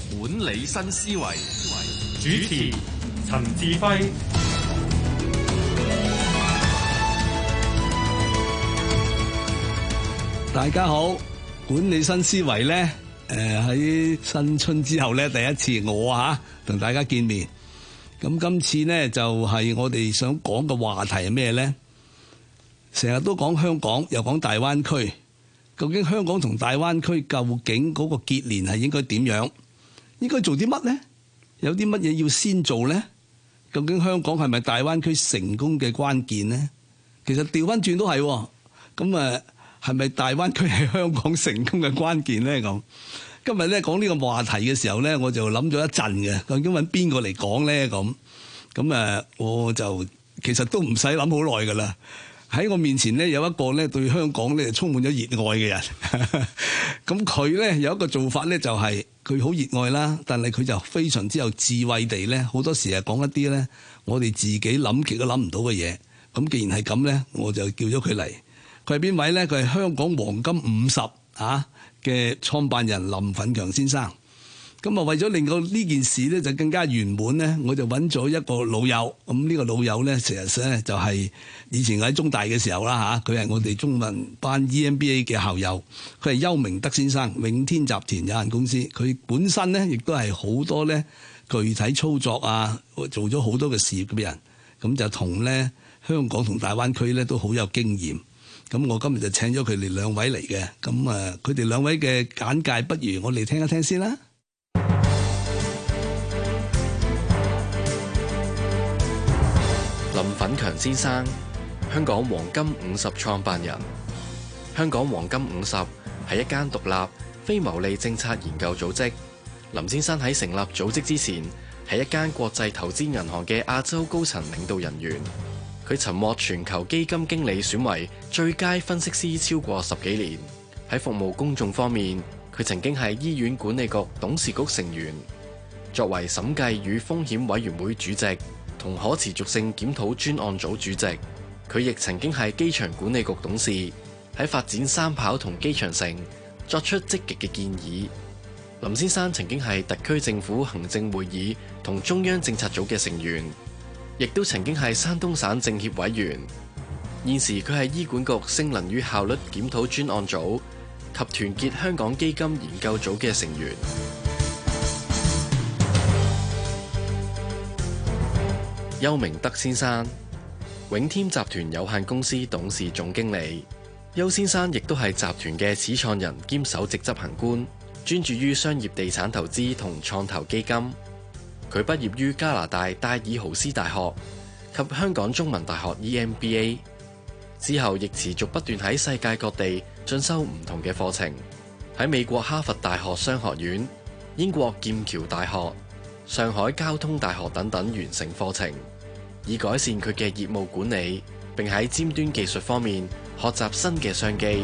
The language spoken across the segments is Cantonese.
管理新思維， 主持陳志輝。 大家好，管理新思維咧，喺新春之後咧，第一次我同大家見面。咁今次咧就係我哋想講嘅話題係咩咧？成日都講香港，又講大灣區。究竟香港同大灣區究竟嗰個結連係應該點樣？應該做啲乜咧？有啲乜嘢要先做咧？究竟香港係咪大灣區成功嘅關鍵咧？其實調翻轉都係，咁係咪大灣區係香港成功嘅關鍵咧？咁今日咧講呢個話題嘅時候咧，我就諗咗一陣嘅，究竟揾邊個嚟講咧？咁我就其實都唔使諗好耐噶啦。喺我面前咧有一個咧對香港咧充滿咗熱愛嘅人，咁佢咧有一個做法咧就係佢好熱愛啦，但係佢就非常之有智慧地咧，好多時係講一啲咧我哋自己諗極都諗唔到嘅嘢。咁既然係咁咧，我就叫咗佢嚟。佢係邊位咧？佢係香港黃金50嘅創辦人林奮強先生。咁為咗令到呢件事咧就更加圓滿咧，我就揾咗一個老友。咁呢個老友咧，其實咧就係以前喺中大嘅時候啦嚇，佢係我哋中文班 EMBA 嘅校友。佢係邱明德先生，永天集團有限公司。佢本身咧亦都係好多咧具體操作做咗好多嘅事業嘅人。咁就同咧香港同大灣區咧都好有經驗。咁我今日就請咗佢哋兩位嚟嘅。咁佢哋兩位嘅簡介，不如我哋聽一聽先啦。 林奮強先生，香港黃金50創辦人。香港黃金50係一間獨立非牟利政策研究組織。林先生喺成立組織之前，係一間國際投資銀行嘅亞洲高層領導人員。佢曾獲全球基金經理選為最佳分析師超過10幾年。喺服務公眾方面，佢曾經係醫院管理局董事局成員，作為審計與風險委員會主席同可持續性檢討專案組主席。佢亦曾經係機場管理局董事，喺發展三跑同機場城作出積極嘅建議。林先生曾經係特區政府行政會議同中央政策組嘅成員，亦都曾經係山東省政協委員。現時佢係醫管局性能與效率檢討專案組及團結香港基金研究組嘅成員。邱明德先生，永添集團有限公司董事總經理。邱先生亦都係集團嘅始創人兼首席執行官，專注於商業地產投資同創投基金。佢畢業於加拿大戴爾豪斯大學及香港中文大學 EMBA， 之後亦持續不斷喺世界各地進修唔同嘅課程，喺美國哈佛大學商學院、英國劍橋大學、上海交通大學等等完成課程，以改善佢嘅業務管理，並喺尖端技術方面學習新嘅商機。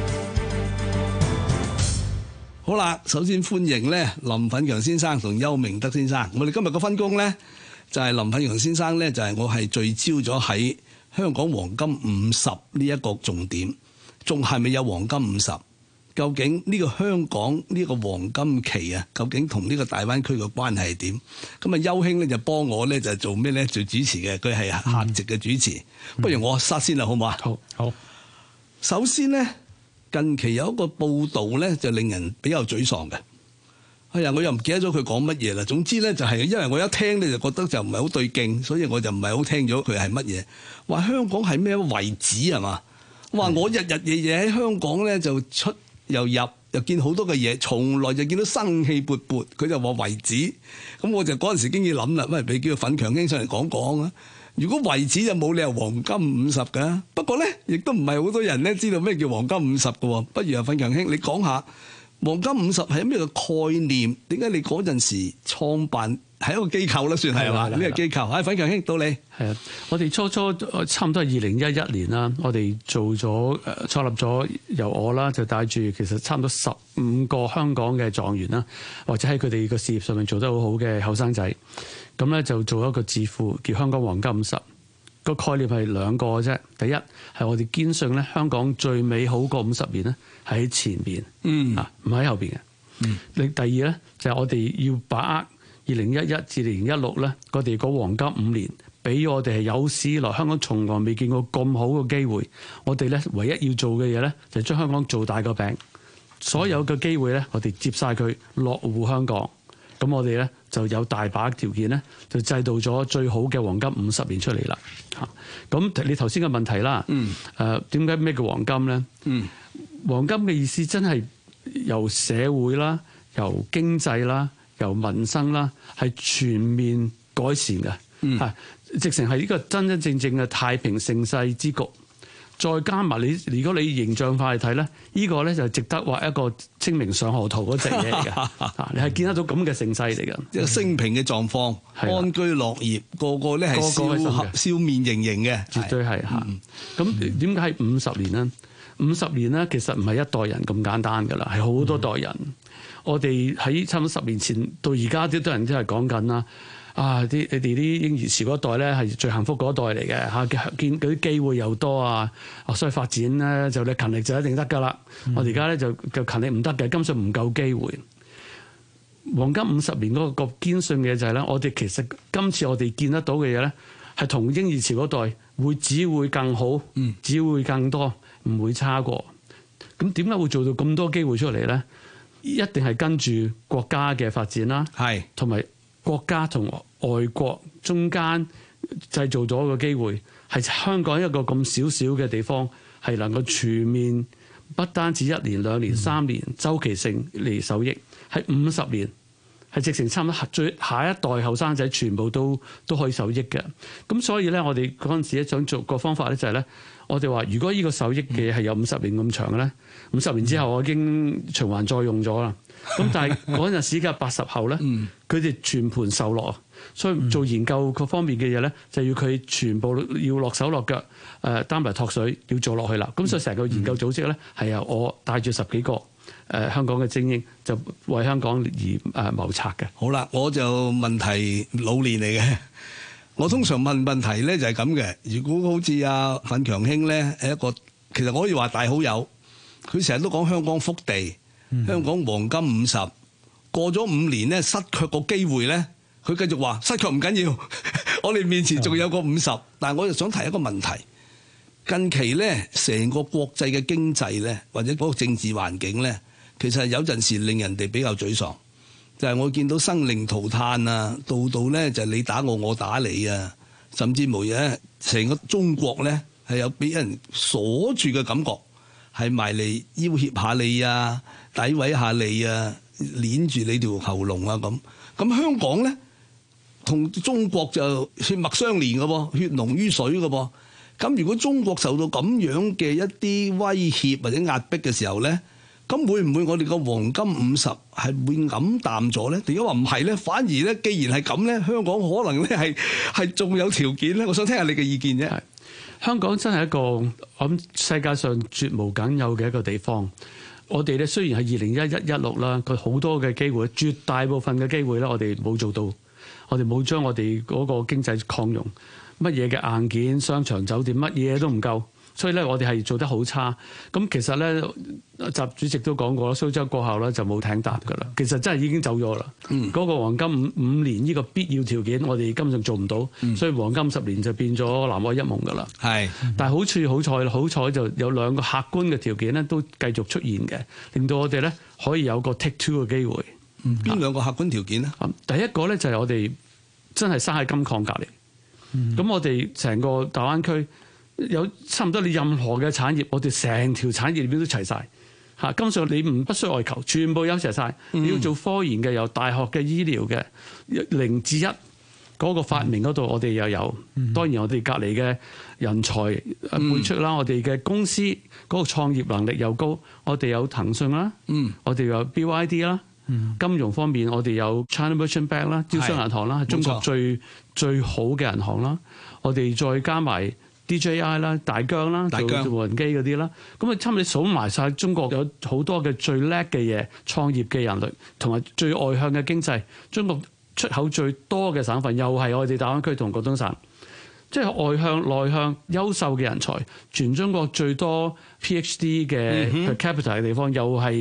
好啦，首先歡迎咧林奮強先生同邱明德先生。我哋今日嘅分工咧就係林奮強先生咧就係我係聚焦咗喺香港黃金50呢一個重點，仲係咪有黃金50？究竟呢個香港呢個黃金期究竟同呢個大灣區嘅關係係點？咁邱兄咧就幫我咧就做咩咧？做主持嘅，佢係客席嘅主持。不如我殺先啦，好唔好啊？ 好。 首先咧，近期有一個報道咧，就令人比較沮喪嘅。哎呀，我又唔記得咗佢講乜嘢啦。總之咧，就係因為我一聽咧就覺得就唔係好對勁，所以我就唔係好聽咗佢係乜嘢。話香港係咩遺址係嘛？話我日日夜夜喺香港咧就出又入又見好多嘅嘢，從來就見到生氣勃勃。佢就話遺址，咁我就嗰陣時經已諗啦，不如俾叫奮強兄上嚟講講啊。如果遺址就冇理由黃金50㗎。不過咧，亦都唔係好多人咧知道咩叫黃金50㗎。不如奮強兄你講下黃金50係咩嘅概念？點解你嗰陣時創辦係一個機構啦，算係嘛？呢個機構，奮強兄到你。 係啊，我哋初差唔多係2011年啦，我哋做咗創立咗，由我啦就帶住其實差唔多15個香港嘅狀元啦，或者喺佢哋個事業上面做得好好嘅後生仔，咁咧就做一個智庫叫香港黃金50。個概念係兩個啫。第一係我哋堅信咧，香港最美好嗰50年咧係喺前邊，唔喺後邊嘅。 第二咧就係我哋要把握2011至2016咧，我哋個黃金5年，俾我哋係有史以來香港從來未見過咁好嘅機會。我哋咧唯一要做嘅嘢咧，就係將香港做大個餅。所有嘅機會咧，我哋接晒佢落戶香港。咁我哋咧就有大把條件咧，就製造咗最好嘅黃金50年出嚟啦。嚇！咁你頭先嘅問題啦，點解咩叫黃金咧？黃金嘅意思真係由社會啦、由經濟啦、由民生啦，係全面改善嘅。直情係呢個真真正正嘅太平盛世之局。再加埋你，如果你形象化嚟睇咧，呢個咧就值得畫一個清明上河圖嗰隻嘢嚟嘅。你係見得到咁嘅盛世嚟嘅， 一個升平嘅狀況，安居樂業，個個咧係笑面盈盈嘅， 絕對係嚇。咁點解係50年咧？50年咧，其實唔係一代人咁簡單㗎啦，係好多代人。我哋喺差唔多10年前到而家，啲多人都係講緊啦。你哋啲嬰兒潮嗰代咧係最幸福嗰代嚟嘅嚇，見嗰啲機會又多啊，所以發展咧就你勤力就一定得㗎啦。我哋而家咧就勤力唔得嘅，根本上唔夠機會。黃金50年嗰個堅信嘅就係咧，我哋其實今次我哋見得到嘅嘢咧，係同嬰兒潮嗰代只會更好，只會更多，唔會差過。咁點解會做到咁多機會出嚟咧？一定係跟住國家嘅發展啦，同埋國家同外國中間製造咗個機會，係香港一個咁少少嘅地方，係能夠全面不單止1年、2年、3年周期性嚟受益，係50年，係直情差唔多最下一代後生仔全部都可以受益嘅。咁所以咧，我哋嗰陣時咧想做個方法咧，就係咧，我哋話如果呢個受益嘅係有50年咁長嘅咧，50年之後我已經循環再用咗啦。咁但係嗰陣時嘅80後咧，佢哋全盤受落，所以做研究各方面嘅嘢咧，就要佢全部要落手落腳，擔埋托水要做落去啦。咁所以成個研究組織咧，係由我帶住10幾個香港嘅精英，就為香港而謀策嘅。 好啦，我就問題老年嚟嘅，我通常問問題咧就係咁嘅。如果好似阿奮強兄咧係一個，其實我可以話大好友，佢成日都講香港福地。香港黃金50過咗5年咧，失卻個機會咧，佢繼續話失卻唔緊要，我哋面前仲有個50。但係我就想提一個問題，近期咧成個國際嘅經濟咧，或者嗰個政治環境咧，其實有陣時令人哋比較沮喪。就係我見到生靈塗炭啊，度度咧就你打我，我打你啊，甚至無嘢，成個中國咧係有俾人鎖住嘅感覺，係埋嚟要挾下你啊，詆毀下你啊，捏住你條喉嚨啊咁。咁香港咧同中國就血脈相連嘅噃，血濃於水嘅噃。咁如果中國受到咁樣嘅一啲威脅或者壓迫嘅時候咧，咁會唔會我哋個黃金50係會黯淡咗咧？點解話唔係咧？反而咧，既然係咁咧，香港可能咧係仲有條件咧。我想聽下你嘅意見啫。 香港真係一個我諗世界上絕無僅有嘅一個地方。我哋咧雖然係2011-16啦，佢好多嘅機會，絕大部分嘅機會咧，我哋冇做到，我哋冇將我哋嗰個經濟擴容，乜嘢嘅硬件、商場、酒店，乜嘢都唔夠，所以咧我哋係做得好差。咁其實咧，習主席都講過啦，蘇州過後咧就冇艇搭噶啦。其實真係已經走咗啦。嗰個黃金5年呢個必要條件，我哋根本上做唔到，所以黃金10年就變咗南海一夢噶啦。係，但係好彩就有兩個客觀嘅條件咧，都繼續出現嘅，令到我哋咧可以有個 take two 嘅機會。 邊兩個客觀條件咧？ 第一個咧就係我哋真係生喺金礦隔離。咁我哋成個大灣區有差唔多你任何嘅產業，我哋成條產業鏈都齊晒。嚇，根本上你不需外求，全部有齊晒。你要做科研嘅，由大學嘅、醫療嘅0至1嗰個發明嗰度，我哋又有。當然我哋隔離嘅人才輩出啦，我哋嘅公司嗰個創業能力又高，我哋有騰訊啦，我哋有 BYD 啦。金融方面，我哋有 China Merchant Bank 啦，招商銀行啦，係中國最好嘅銀行啦。我哋再加埋 DJI 啦、大疆啦，做無人機嗰啲啦。咁啊，差唔多數埋晒中國有好多嘅最叻嘅嘢，創業嘅人類，同埋最外向嘅經濟。中國出口最多嘅省份，又係我哋大灣區同廣東省。即係外向、內向、優秀嘅人才，全中國最多 PhD 嘅 per capita 嘅地方，又係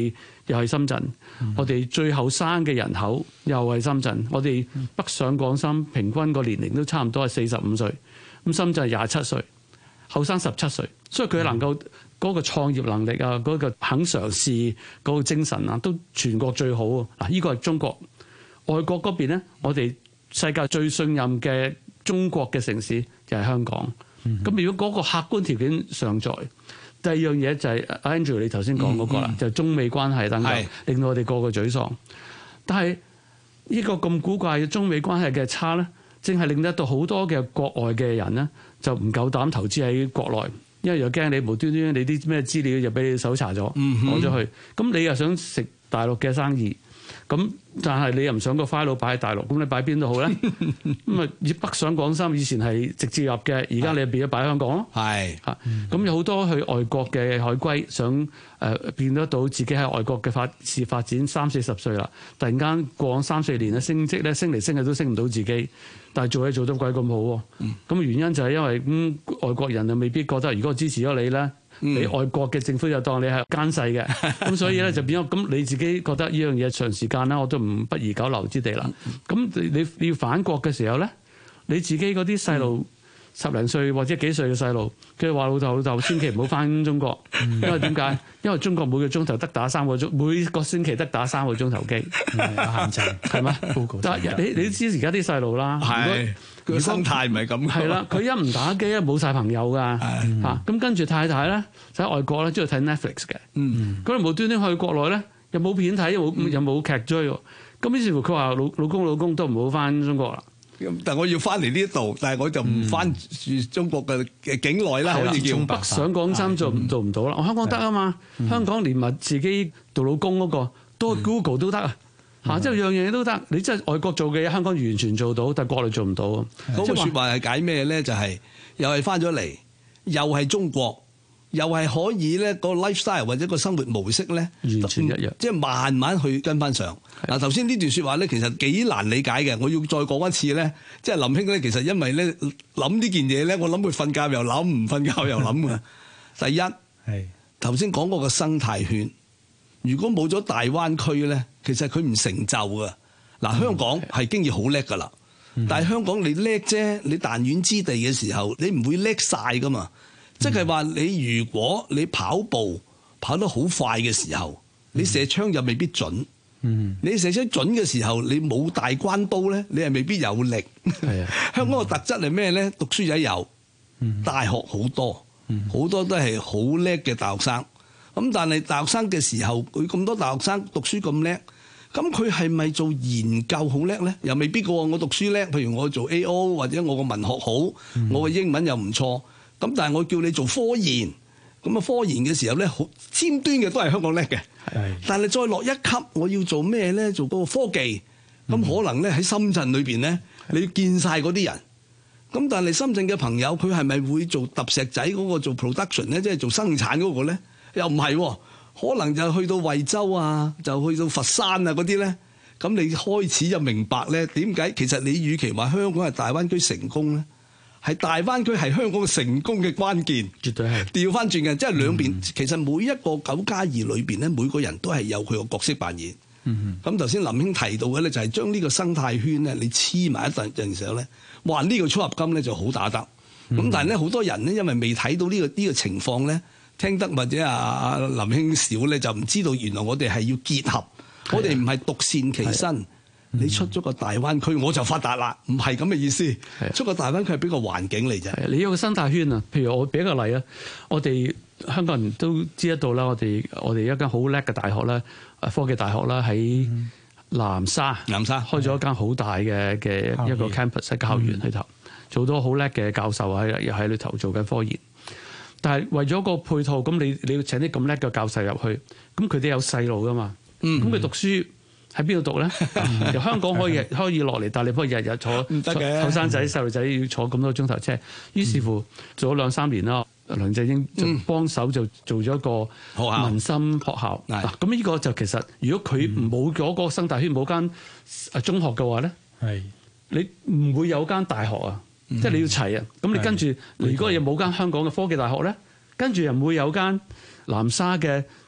又係深圳。我哋最後生嘅人口又係深圳。我哋北上廣深平均個年齡都差唔多係45歲，咁深圳係27歲，後生17歲，所以佢能夠嗰個創業能力啊，嗰個肯嘗試嗰個精神啊，都全國最好啊！嗱，呢個係中國。外國嗰邊咧，我哋世界最信任嘅中國嘅城市就係香港。咁如果嗰個客觀條件尚在，第二樣嘢就係 Andrew 你頭先講嗰個啦，就係中美關係等等，令到我哋個個沮喪。但係呢個咁古怪嘅中美關係嘅差咧，正係令得到好多嘅國外嘅人咧，就唔夠膽投資喺國內，因為又驚你無端端你啲咩資料就俾你搜查咗攞咗去，咁你又想食大陸嘅生意。咁但係你又唔想個 file 擺喺大陸，咁你擺邊度好咧？咁啊，北上廣深以前係直接入嘅，而家你變咗擺喺香港咯。係嚇，咁有好多去外國嘅海歸想變得到自己喺外國嘅發展30-40歲啦，突然間過往3-4年咧升職咧升嚟升去都升唔到自己，但係做嘢做得鬼咁好喎。咁原因就係因為外國人就未必覺得，如果我支持咗你咧。你外國嘅政府就當你係奸細嘅，咁所以咧就變咗咁你自己覺得呢樣嘢長時間啦，我都不宜久留之地啦。咁你要反國嘅時候咧，你自己嗰啲細路10零歲或者幾歲嘅細路，佢話老豆千祈唔好翻中國，因為點解？因為中國每個鐘頭得打3個鐘，每個星期得打3個鐘頭機，有限制係嘛？但係你都知而家啲細路啦， 佢生態唔係咁。 係啦，佢一唔打機咧冇晒朋友㗎嚇。咁跟住太太咧就喺外國咧中意睇 Netflix 嘅。咁你無端端去國內咧又冇片睇，又冇劇追喎。咁於是乎佢話老公都唔好翻中國啦。 但我要翻嚟呢度，但係我就唔翻住中國嘅境內啦。可以叫從北上廣深做唔到啦。我香港得啊嘛，香港連埋自己做老公嗰個都 Google 都得啊。即係樣嘢都得，你真係外國做嘅嘢，香港完全做到，但係國內做唔到。 嗰個説話係解咩咧？就係又係翻咗嚟，又係中國，又係可以咧個 lifestyle 或者個生活模式咧， 完全一樣， 即係慢慢去跟翻上。嗱，頭先呢段説話咧，其實幾難理解嘅。我要再講一次咧，即係林兄咧，其實因為咧諗呢件嘢咧，我諗佢瞓覺又諗，唔瞓覺又諗嘅。第一係頭先講嗰個生態圈。如果冇咗大灣區咧，其實佢唔成就噶。嗱，香港係經已好叻噶啦，但係香港你叻啫，你彈丸之地嘅時候，你唔會叻晒噶嘛。即係話你如果你跑步跑得好快嘅時候，你射槍又未必準。你射槍準嘅時候，你冇大關刀咧，你係未必有力。香港嘅特質係咩咧？讀書仔有，大學好多，好多都係好叻嘅大學生。咁但係大學生嘅時候，佢咁多大學生讀書咁叻，咁佢係咪做研究好叻咧？又未必㗎喎。我讀書叻，譬如我做 A.O. 或者我個文學好，我嘅英文又唔錯。咁但係我叫你做科研，咁啊科研嘅時候咧，好尖端嘅都係香港叻嘅。但係再落一級，我要做咩咧？做嗰個科技，咁可能咧喺深圳裏邊咧，你要見晒嗰啲人。咁但係深圳嘅朋友，佢係咪會做揼石仔嗰個做 production 咧？即係做生產嗰個咧？又唔係喎，可能就去到惠州啊，就去到佛山啊嗰啲咧，咁你開始就明白咧點解其實你與其話香港係大灣區成功咧，係大灣區係香港成功嘅關鍵， 絕對係調翻轉嘅，即係兩邊其實每一個9+2裏邊咧，每個人都係有佢個角色扮演。咁頭先林兄提到嘅咧，就係將呢個生態圈咧，你黐埋一陣嘅時候咧，哇！呢個撮合金咧就好打得。咁但係咧好多人咧，因為未睇到呢個情況咧。聽得或者阿林兄少咧，就唔知道原來我哋係要結合，我哋唔係獨善其身。你出咗個大灣區，我就發達啦，唔係咁嘅意思。出個大灣區係俾個環境嚟啫。 你有個生態圈啊，譬如我俾一個例啊，我哋香港人都知得到啦，我哋一間好叻嘅大學啦，科技大學啦，喺南沙開咗一間好大嘅一個 campus 喺校園裏頭，做到好叻嘅教授喺裏頭做緊科研。但係為咗個配套，咁你要請啲咁叻嘅教授入去，咁佢哋有細路噶嘛？咁佢讀書喺邊度讀咧？由香港可以落嚟，但係你不可以日日坐後生仔細路仔要坐咁多鐘頭車。於是乎做咗2-3年啦，梁振英就幫手就做咗一個民心學校。嗱，咁呢個就其實如果佢冇咗個生態圈，冇間中學嘅話咧，你唔會有間大學啊。即係你要齊啊！咁你跟住，如果又冇間香港嘅科技大學咧，跟住又唔會有間南沙嘅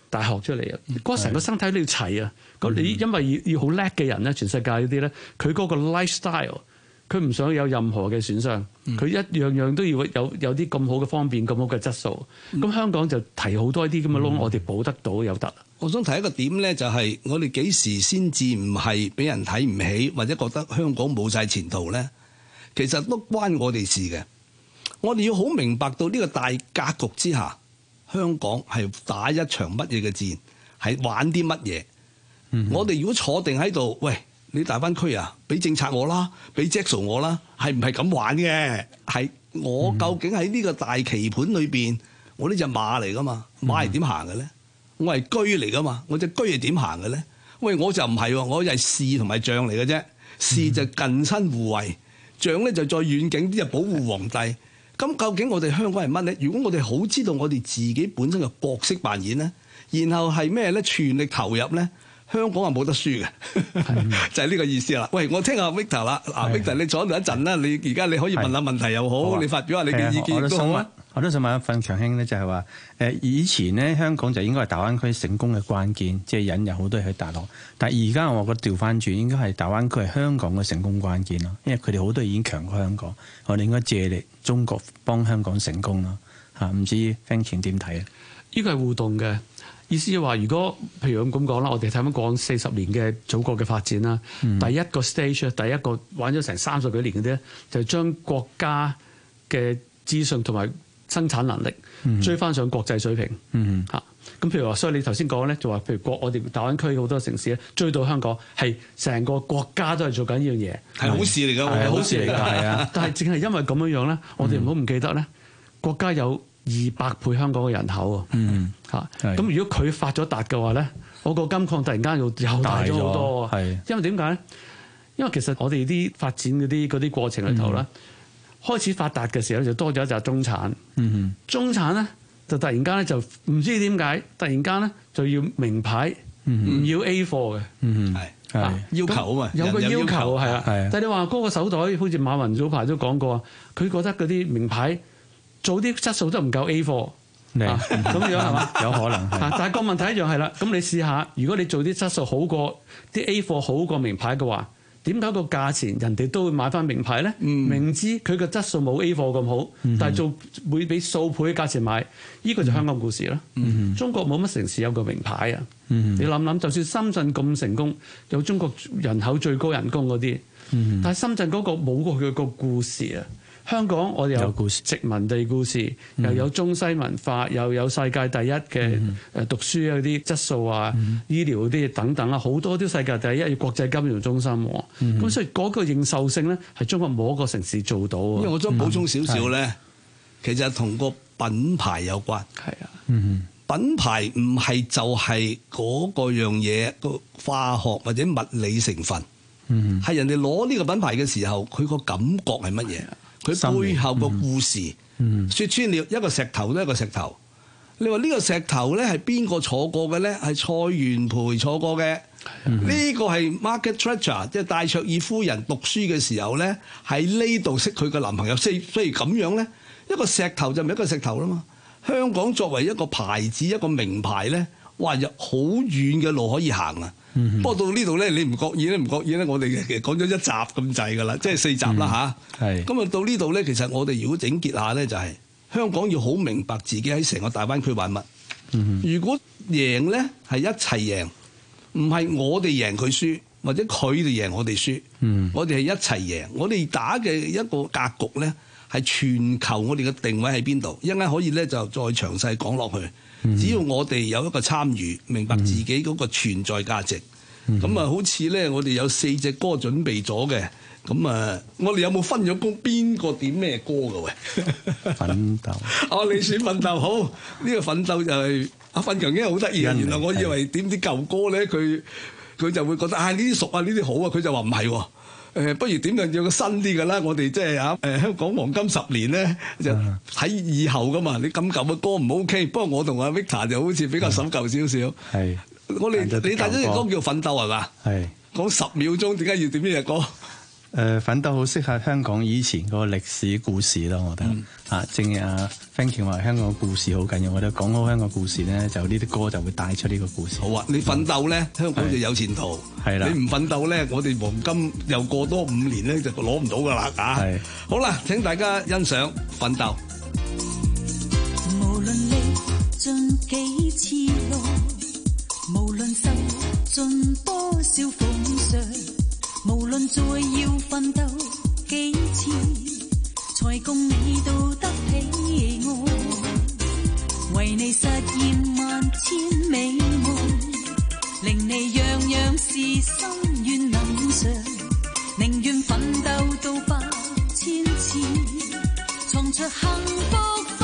大學出嚟啊！嗰成個生態都要齊啊！咁你因為要好叻嘅人咧，全世界嗰啲咧，佢嗰個 lifestyle， 佢唔想有任何嘅損傷，佢一樣樣都要有啲咁好嘅方便，咁好嘅質素。咁香港就提好多啲咁嘅窿，我哋補得到有得。 我想提一個點咧，就係我哋幾時先至唔係俾人睇唔起，或者覺得香港冇晒前途咧？其實都關我哋事嘅。我哋要好明白到呢個大格局之下，香港係打一場乜嘢嘅戰，係玩啲乜嘢？我哋如果坐定喺度，喂，你大灣區啊，俾政策我啦，俾 Jackson 我啦，係唔係咁玩嘅？係我究竟喺呢個大棋盤裏邊，我呢隻馬嚟噶嘛？馬係點行嘅咧？我係車嚟噶嘛？我隻車係點行嘅咧？喂，我就唔係喎，我係士同埋將嚟嘅啫。士就近身護衛，將咧就再遠景啲就保護皇帝。咁究竟我哋香港係乜咧？如果我哋好知道我哋自己本身嘅角色扮演咧，然後係咩咧？全力投入咧，香港係冇得輸嘅，就係呢個意思啦。喂，我聽下 Victor 啦，Victor 你坐喺度一陣啦，你而家你可以問下問題又好，你發表下你嘅意見都好啊。 我都想問一份強兄咧，就係話以前咧香港就應該係大灣區成功嘅關鍵，即係引入好多人去大陸。但係而家我覺得調翻轉，應該係大灣區係香港嘅成功關鍵咯，因為佢哋好多已經強過香港，我哋應該借力中國幫香港成功咯嚇。唔知 Frank 點睇啊？ 呢個係互動嘅意思，係話如果譬如咁講啦，我哋睇翻講40年嘅祖國嘅發展啦，第一個 stage， 第一個玩咗成30幾年嗰啲咧，就將國家嘅資訊同埋生產能力追翻上國際水平嚇。咁譬如話，所以你頭先講咧，就話譬如我哋大灣區好多城市咧，追到香港係成個國家都係做緊呢樣嘢， 係好事嚟㗎， 係好事嚟㗎，係啊。但係淨係因為咁樣樣咧，我哋唔好唔記得咧，國家有200倍香港嘅人口啊嚇。咁如果佢發咗達嘅話咧，我個金礦突然間又大咗好多。係因為點解咧？因為其實我哋啲發展嗰啲過程裏頭咧。開始發達嘅時候就多咗一紮中產，中產咧就突然間咧就唔知點解，突然間咧就要名牌，唔要 A 貨嘅， 係要求啊嘛， 有個要求係啊。但係你話嗰個手袋，好似馬雲早排都講過，佢覺得嗰啲名牌做啲質素都唔夠 A 貨，咁樣係嘛？ 有可能。 但係個問題一樣係啦，咁你試下，如果你做啲質素好過啲 A 貨好過名牌嘅話。點解個價錢人哋都會買翻名牌咧？明知佢個質素冇 A 貨咁好，但係會俾數倍嘅價錢買，呢個就香港故事啦。中國冇乜城市有個名牌啊！你諗諗，就算深圳咁成功，有中國人口最高人工嗰啲，但係深圳嗰個冇過佢個故事啊！香港我哋有殖民地故事，又有中西文化，又有世界第一嘅讀書嗰啲質素啊、醫療嗰啲等等啊，好多都世界第一嘅國際金融中心。咁所以嗰個認受性咧，係中國冇一個城市做到。 因為我想補充少少咧，其實同個品牌有關。係啊，品牌唔係就係嗰個樣嘢個化學或者物理成分，係人哋攞呢個品牌嘅時候，佢個感覺係乜嘢？佢背後個故事，説穿了一個石頭都係一個石頭。你話呢個石頭咧係邊個坐過嘅咧？係蔡元培坐過嘅。呢個係 Margaret Thatcher， 即係戴卓爾夫人讀書嘅時候咧，喺呢度識佢嘅男朋友。所以咁樣咧，一個石頭就唔係一個石頭啦嘛。香港作為一個牌子、一個名牌咧，哇！有好遠嘅路可以行啊！不過到呢度咧，你唔覺意咧，我哋其實講咗1集咁滯㗎啦，即係4集啦嚇。咁啊到呢度咧，其實我哋如果整結下咧，就係香港要好明白自己喺成個大灣區玩乜。如果贏咧係一齊贏，唔係我哋贏佢輸，或者佢哋贏我哋輸。我哋係一齊贏。我哋打嘅一個格局咧係全球，我哋嘅定位喺邊度？一陣間可以咧就再詳細講落去。只要我哋有一個參與，明白自己嗰個存在價值，咁好似咧，我哋有4隻歌準備咗嘅，咁我哋有冇分咗工？邊個點咩歌㗎喂？ 奮鬥。 你選奮鬥好，呢個奮鬥就係阿奮強英好得意啊！原來我以為點啲舊歌咧，佢就會覺得呢啲熟啊，呢啲好啊，佢就話唔係喎。不如點樣有個新啲嘅啦？我哋即係香港黃金10年咧，就喺以後噶嘛。你咁舊嘅歌唔 OK， 不過我同阿 Victor 就好似比較守舊少少。係，你帶咗隻歌叫《奮鬥》係嘛？係。講10秒鐘，點解要點呢隻歌？ 奮鬥好適合香港以前嗰個歷史故事咯，我覺得正如阿 Frankie 話香港故事好緊要，我覺得講好香港故事咧，就呢啲歌就會帶出呢個故事。 好啊，你奮鬥咧，香港就有前途。係啦，你唔奮鬥咧，我哋黃金又過多5年咧就攞唔到噶啦嚇。係，好啦，請大家欣賞奮鬥。 無論歷盡幾次路，無論受盡多少風霜，無論再要奮鬥幾次，才共你到得起我，為你實現萬千美夢，令你樣樣事心願能償，寧願奮鬥到8000次，創出幸福。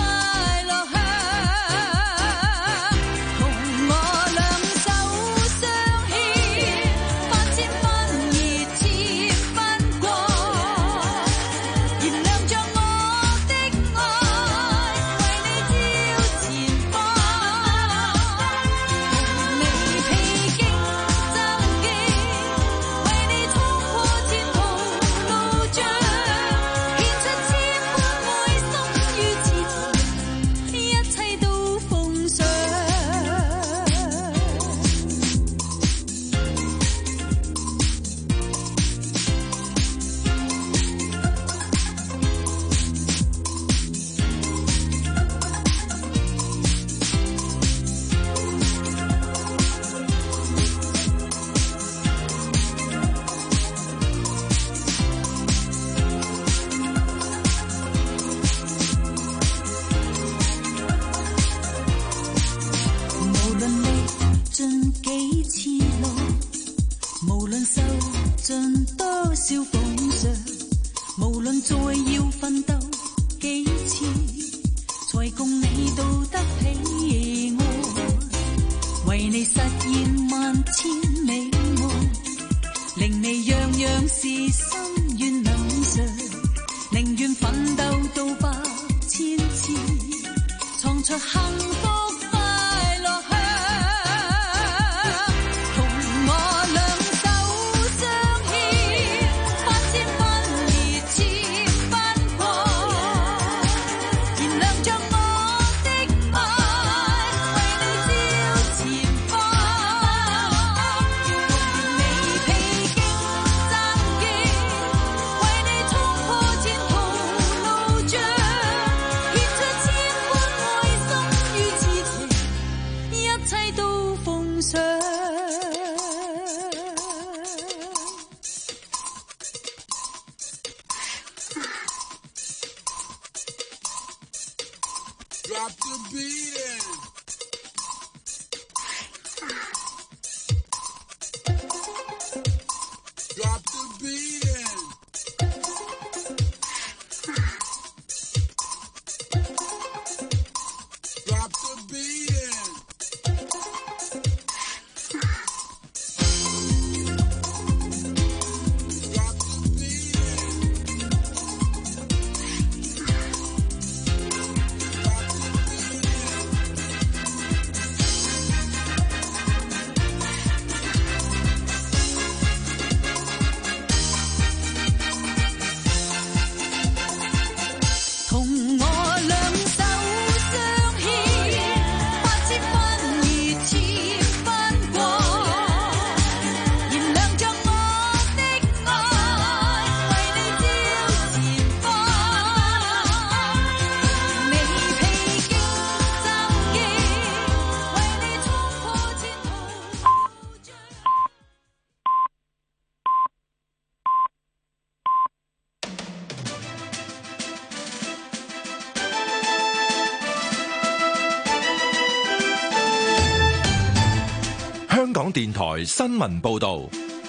香港電台新聞報導，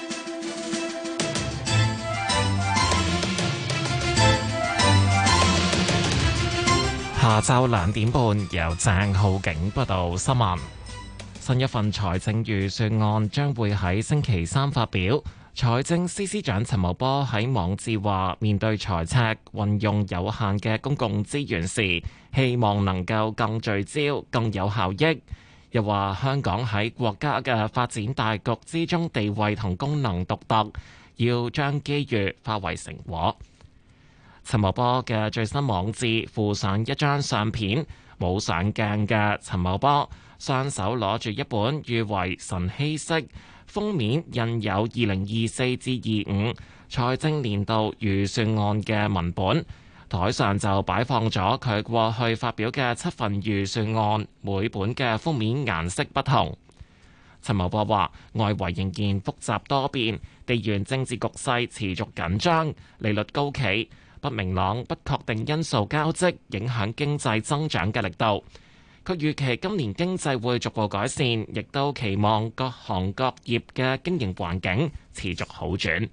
下晝2點半由鄭浩景報道新聞。新一份財政預算案將會喺星期3發表。財政司司長陳茂波喺網誌話，面對財赤，運用有限嘅公共資源時，希望能夠更聚焦、更有效益。又話香港喺國家嘅發展大局之中地位同功能獨特， 要將機遇化為成果。陳茂波嘅最新網誌附上一張相片，冇上鏡嘅陳茂波雙手攞住一本譽為晨曦色，封面印有2024至25財政年度預算案嘅文本，台上就擺放咗佢過去發表嘅7份預算案，每本嘅封面顏色不同。陳茂波話：外圍仍然複雜多變，地緣政治局勢持續緊張，利率高企，不明朗、不確定因素交織，影響經濟增長嘅力度。佢預期今年經濟會逐步改善，亦都期望各行各業嘅經營環境持續好轉。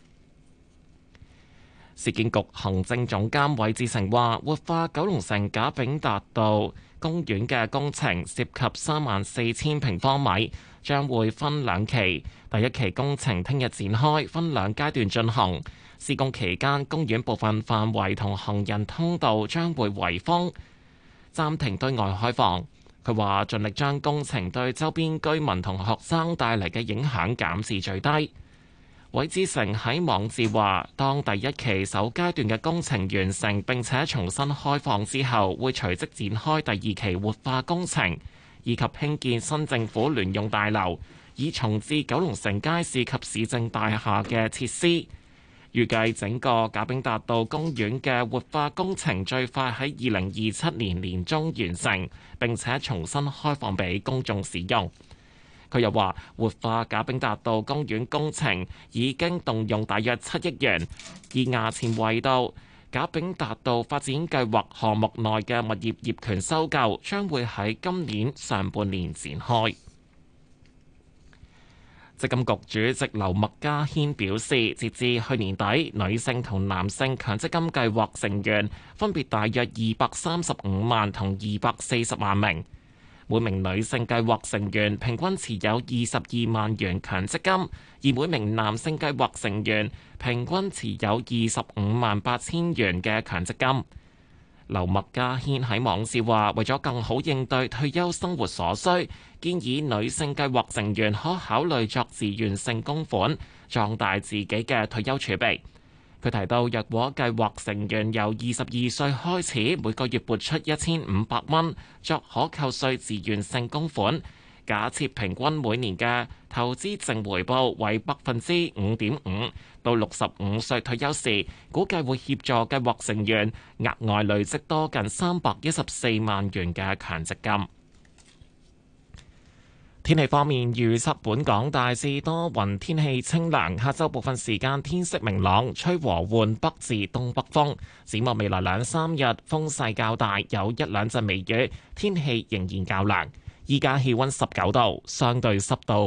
市建局行政總監韋志成話：活化九龍城賈炳達道公園嘅工程涉及34000平方米，將會分兩期。第一期工程聽日展開，分兩階段進行。施工期間，公園部分範圍同行人通道將會圍封，暫停對外開放。佢話盡力將工程對周邊居民同學生帶嚟嘅影響減至最低。韋志成喺網誌話，當第一期首階段嘅工程完成並且重新開放之後，會隨即展開第二期活化工程，以及興建新政府聯用大樓，以重置九龍城街市及市政大廈嘅設施。預計整個賈炳達道公園嘅活化工程最快喺2027年年中完成，並且重新開放俾公眾使用。佢又話，活化賈炳達道公園工程已經動用大約7億元，而衙前圍道賈炳達道發展計劃項目內嘅物業業權收購將會喺今年上半年展開。積金局主席劉麥嘉軒表示，截至去年底，女性同男性強積金計劃成員分別大約235萬同240萬名。每名女性計劃成員平均持有22萬元強積金，而每名男性計劃成員平均持有25萬8千元嘅強積金。劉麥嘉軒喺網誌話，為咗更好應對退休生活所需，建議女性計劃成員可考慮作自願性供款，壯大自己嘅退休儲備。佢提到，若果計劃成員由22歲開始，每個月撥出1500蚊作可扣稅自願性供款，假設平均每年嘅投資淨回報為5.5%，到65歲退休時，估計會協助計劃成員額外累積多近314萬元嘅強積金。天氣方面，預測本港大致多雲，天氣清涼，下晝部分時間天色明朗，吹和緩北至東北風。展望未來2-3日，風勢較大，有一兩陣微雨，天氣仍然較涼。依家氣溫19度，相對濕度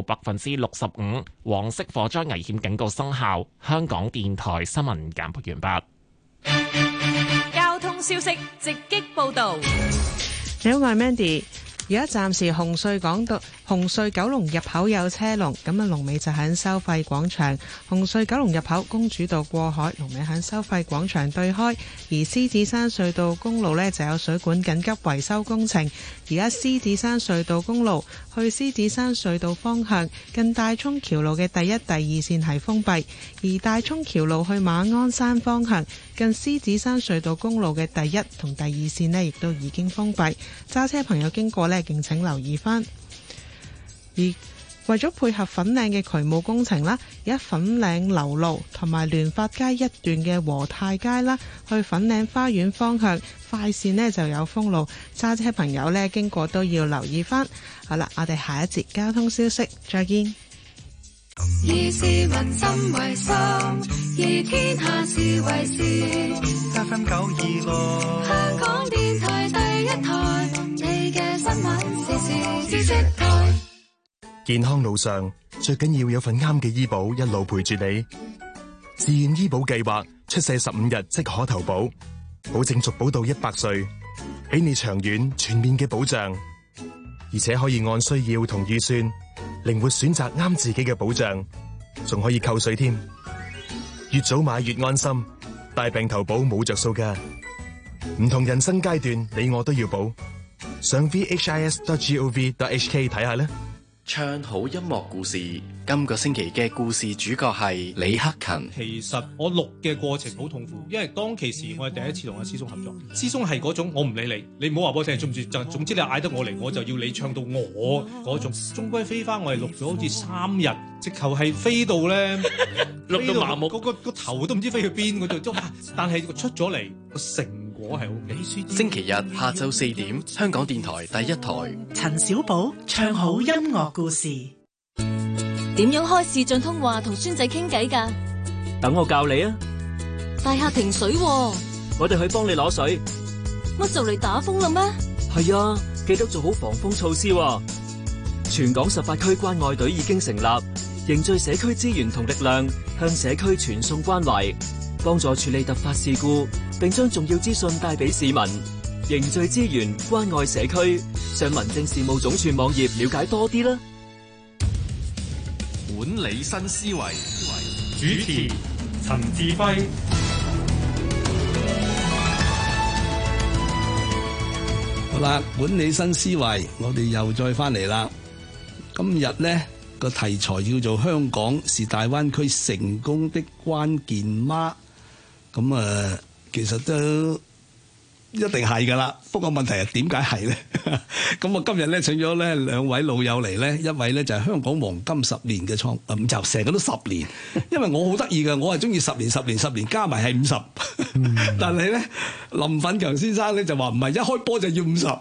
65%，黃色火災危險警告生效。香港電台新聞簡報完畢。 交通消息直擊報道。 你好，我係 Mandy。而家暫時紅隧九龍入口有車龍，咁啊龍尾就喺收費廣場。紅隧九龍入口公主道過海，龍尾喺收費廣場對開。而獅子山隧道公路呢就有水管緊急維修工程。而家獅子山隧道公路去獅子山隧道方向，近大涌橋路嘅第一、第二線係封閉；而大涌橋路去馬鞍山方向，近獅子山隧道公路嘅第一同第二線呢亦都已經封閉。揸車朋友經過呢，敬請留意返。而為咗配合粉嶺嘅渠務工程啦，而家粉嶺流路同埋聯發街一段嘅和泰街啦，去粉嶺花園方向快線呢就有封路，揸車朋友呢經過都要留意返。好啦，我哋下一節交通消息再見。 以市民心為心，以天下事為事。 FM 926， 香港電台第一台，你嘅新聞時事知識台。 健康路上最緊要有份啱嘅醫保一路陪住你。自願醫保計劃出世15日即可投保，保證續保到100歲，俾你長遠全面嘅保障，而且可以按需要同預算靈活選擇啱自己嘅保障，仲可以扣稅添。越早買越安心，大病投保冇着數㗎。唔同人生階段，你我都要保。上 vhis.gov.hk 睇下啦。 唱好音樂故事，今個星期嘅故事主角係李克勤。 其實我錄嘅過程好痛苦，因為當其時我係第一次同阿師兄合作。師兄係嗰種我唔理你，你唔好話俾我聽中唔中意，就總之你嗌得我嚟，我就要你唱到我嗰種。終歸飛花我係錄咗好似3日，直頭係飛到咧， 錄到麻木， 個頭都唔知飛去邊嗰度。但係出咗嚟個成果係 OK。 星期日下晝4點，香港電台第一台， 陳小寶唱好音樂故事。 點樣開視像通話同孫仔傾偈㗎？ 等我教你啊！ 大廈停水喎， 我哋去幫你攞水。 乜就嚟打風啦咩？ 係啊，記得做好防風措施喎。全港18區關愛隊已經成立，凝聚社區資源同力量，向社區傳送關懷，幫助處理突發事故，並將重要資訊帶俾市民。凝聚資源，關愛社區，上民政事務總署網頁了解多啲啦。 管理新思維， 主持陳志輝。 好啦，管理新思維，我哋又再翻嚟啦。今日呢個題材叫做香港是大灣區成功的關鍵嗎？咁其實都一定係㗎啦，不過問題係點解係咧？咁我今日咧請咗咧2位老友嚟咧，一位咧就係香港黃金10年嘅咁就成日都10年，因為我好得意嘅，我係中意10年10年加埋係50，但係咧林奮強先生咧就話唔係一開波就要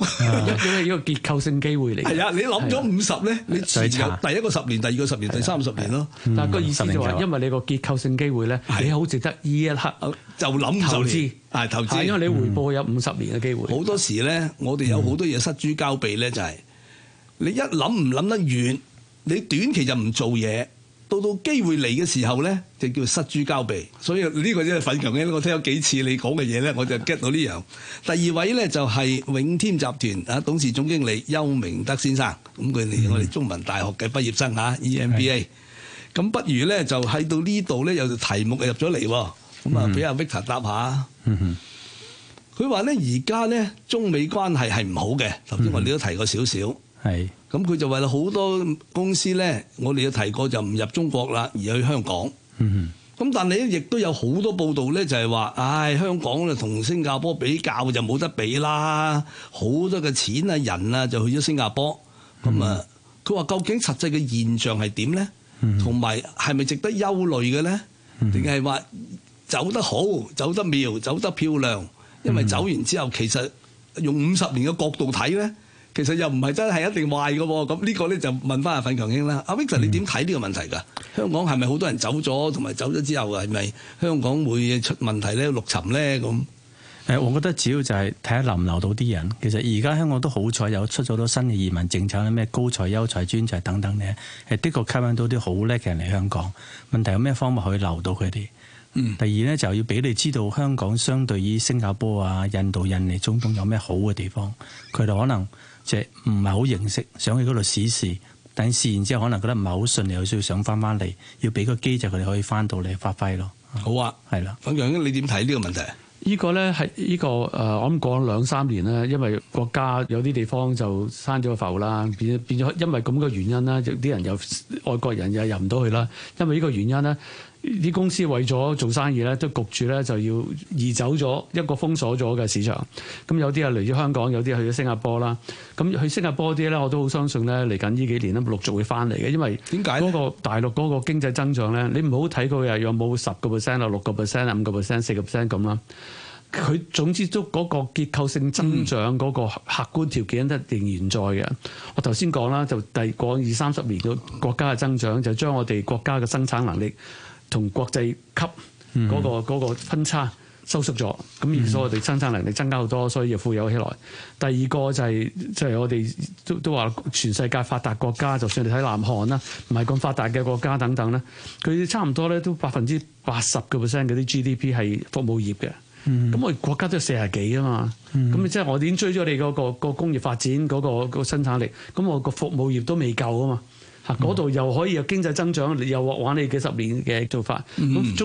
50， 因為呢個結構性機會嚟。 係啊，你諗咗50咧，你前有第一個10年、第二個10年、第三個10年咯。 但係個意思就話，因為你個結構性機會咧，你好值得呢一刻就諗投資。 係投資， 因為你回報有50年嘅機會。 好多時咧，我哋有好多嘢失諸交臂咧，就係你一諗唔諗得遠，你短期就唔做嘢，到機會嚟嘅時候咧，就叫失諸交臂。所以呢個真係奮強嘅，我聽咗幾次你講嘅嘢咧，我就 get 到呢樣。第二位咧就係永添集團董事總經理邱明德先生，咁佢哋我哋中文大學嘅畢業生EMBA。咁不如咧就喺到呢度咧有條題目入咗嚟喎。咁啊，俾阿 Victor 答下。佢話咧，而家咧中美關係係唔好嘅。頭先我哋都提過少少。 係。 咁佢就話好多公司咧，我哋都提過就唔入中國啦，而去香港。咁但係咧，亦都有好多報道咧，就係話，香港咧同新加坡比較就冇得比啦。好多嘅錢啊、人啊就去咗新加坡。咁啊，佢話究竟實際嘅現象係點咧？同埋係咪值得憂慮嘅咧？定係話走得好、走得妙、走得漂亮，因為走完之後，其實用50年嘅角度睇咧，其實又唔係真係一定壞嘅喎。咁呢個咧就問翻阿奮強兄啦。阿 Victor，你點睇呢個問題㗎？香港係咪好多人走咗，同埋走咗之後係咪香港會出問題咧、陸沉咧咁？ 我覺得主要就係睇下留唔留到啲人。其實而家香港都好彩有出咗好多新嘅移民政策咧，咩高才、優才、專才等等咧，的確吸引到啲好叻嘅人嚟香港。問題有咩方法可以留到佢哋？第二咧就要俾你知道香港相對於新加坡啊、印度、印尼、中東有咩好嘅地方，佢哋可能即係唔係好認識，想去嗰度試試，但係試完之後可能覺得唔係好順利，有需要想翻嚟，要俾個機制佢哋可以翻到嚟發揮咯。 好啊，係啦，奮強兄你點睇呢個問題？ 呢個咧係呢個我諗過咗2-3年咧，因為國家有啲地方就閂咗個埠啦，變咗因為咁嘅原因啦，有啲人又外國人又入唔到去啦。因為呢個原因咧，啲公司為咗做生意咧，都焗住咧就要移走咗一個封鎖咗嘅市場。咁有啲係嚟咗香港，有啲係去咗新加坡啦。咁去新加坡啲咧，我都好相信咧，嚟緊呢幾年咧陸續會翻嚟嘅。因為點解嗰個大陸嗰個經濟增長咧，你唔好睇佢有冇10%啊、6%啊、5%、4%咁啦。佢總之都嗰個結構性增長嗰個客觀條件都仍然在嘅。我頭先講啦，就過20-30年嘅國家嘅增長，就將我哋國家嘅生產能力同國際級嗰個分差收縮咗。咁而所以我哋生產能力增加好多，所以要富有起來。第二個就係我哋都話全世界發達國家，就算你睇南韓啦，唔係咁發達嘅國家等等咧，佢差唔多咧都80%嗰啲 GDP 係服務業嘅。咁我哋國家都有40幾啊嘛，咁即係我哋已經追咗你嗰個工業發展嗰個生產力，咁我個服務業都未夠啊嘛，嗰度又可以有經濟增長，又玩你幾10年嘅做法。咁中國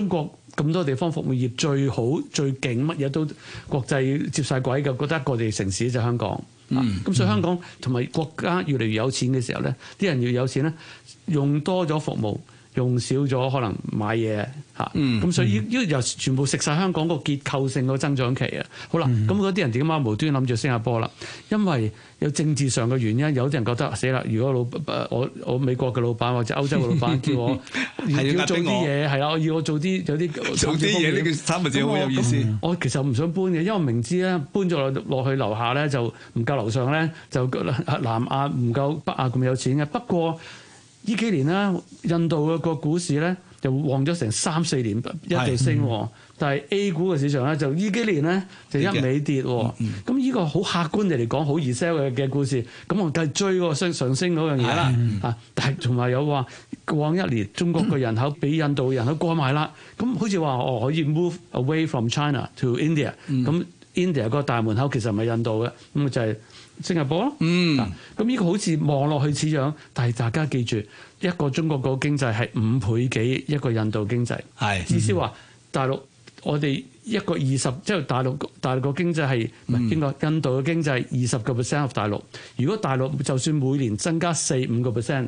咁多地方服務業最好最勁，乜嘢都國際接晒軌嘅，覺得一個地城市就香港。咁所以香港同埋國家越嚟越有錢嘅時候咧，啲人越有錢咧，用多咗服務，用少咗可能買嘢嚇。咁所以呢個又全部食晒香港個結構性個增長期啊。好啦，咁嗰啲人點解無端諗住新加坡啦？因為有政治上嘅原因，有啲人覺得死啦！如果我美國嘅老闆或者歐洲嘅老闆叫我要做啲嘢，係啦，要我做啲有啲做啲嘢，呢個三個字好有意思。 我其實唔想搬嘅，因為我明知咧搬咗落去樓下咧就唔夠樓上咧就南亞唔夠北亞咁有錢嘅。不過呢幾年咧，印度嘅個股市咧就旺咗成3-4年一度升，但係 A 股嘅市場咧就呢幾年咧就一味跌。咁呢個好客觀地嚟講，好易 sell 嘅故事。咁我繼續追嗰個上升嗰樣嘢啦。但係同埋有話過往一年中國嘅人口比印度嘅人口過埋啦。咁好似話可以 move away from China to India。咁 India 個大門口其實唔係印度嘅，咁就係新加坡咯。咁呢個好似望落去似樣，但係大家記住，一個中國個經濟係5倍幾一個印度經濟。至少話大陸我哋一個20，即係大陸個經濟係唔係邊個？印度嘅經濟20% of 大陸。如果大陸就算每年增加4-5%，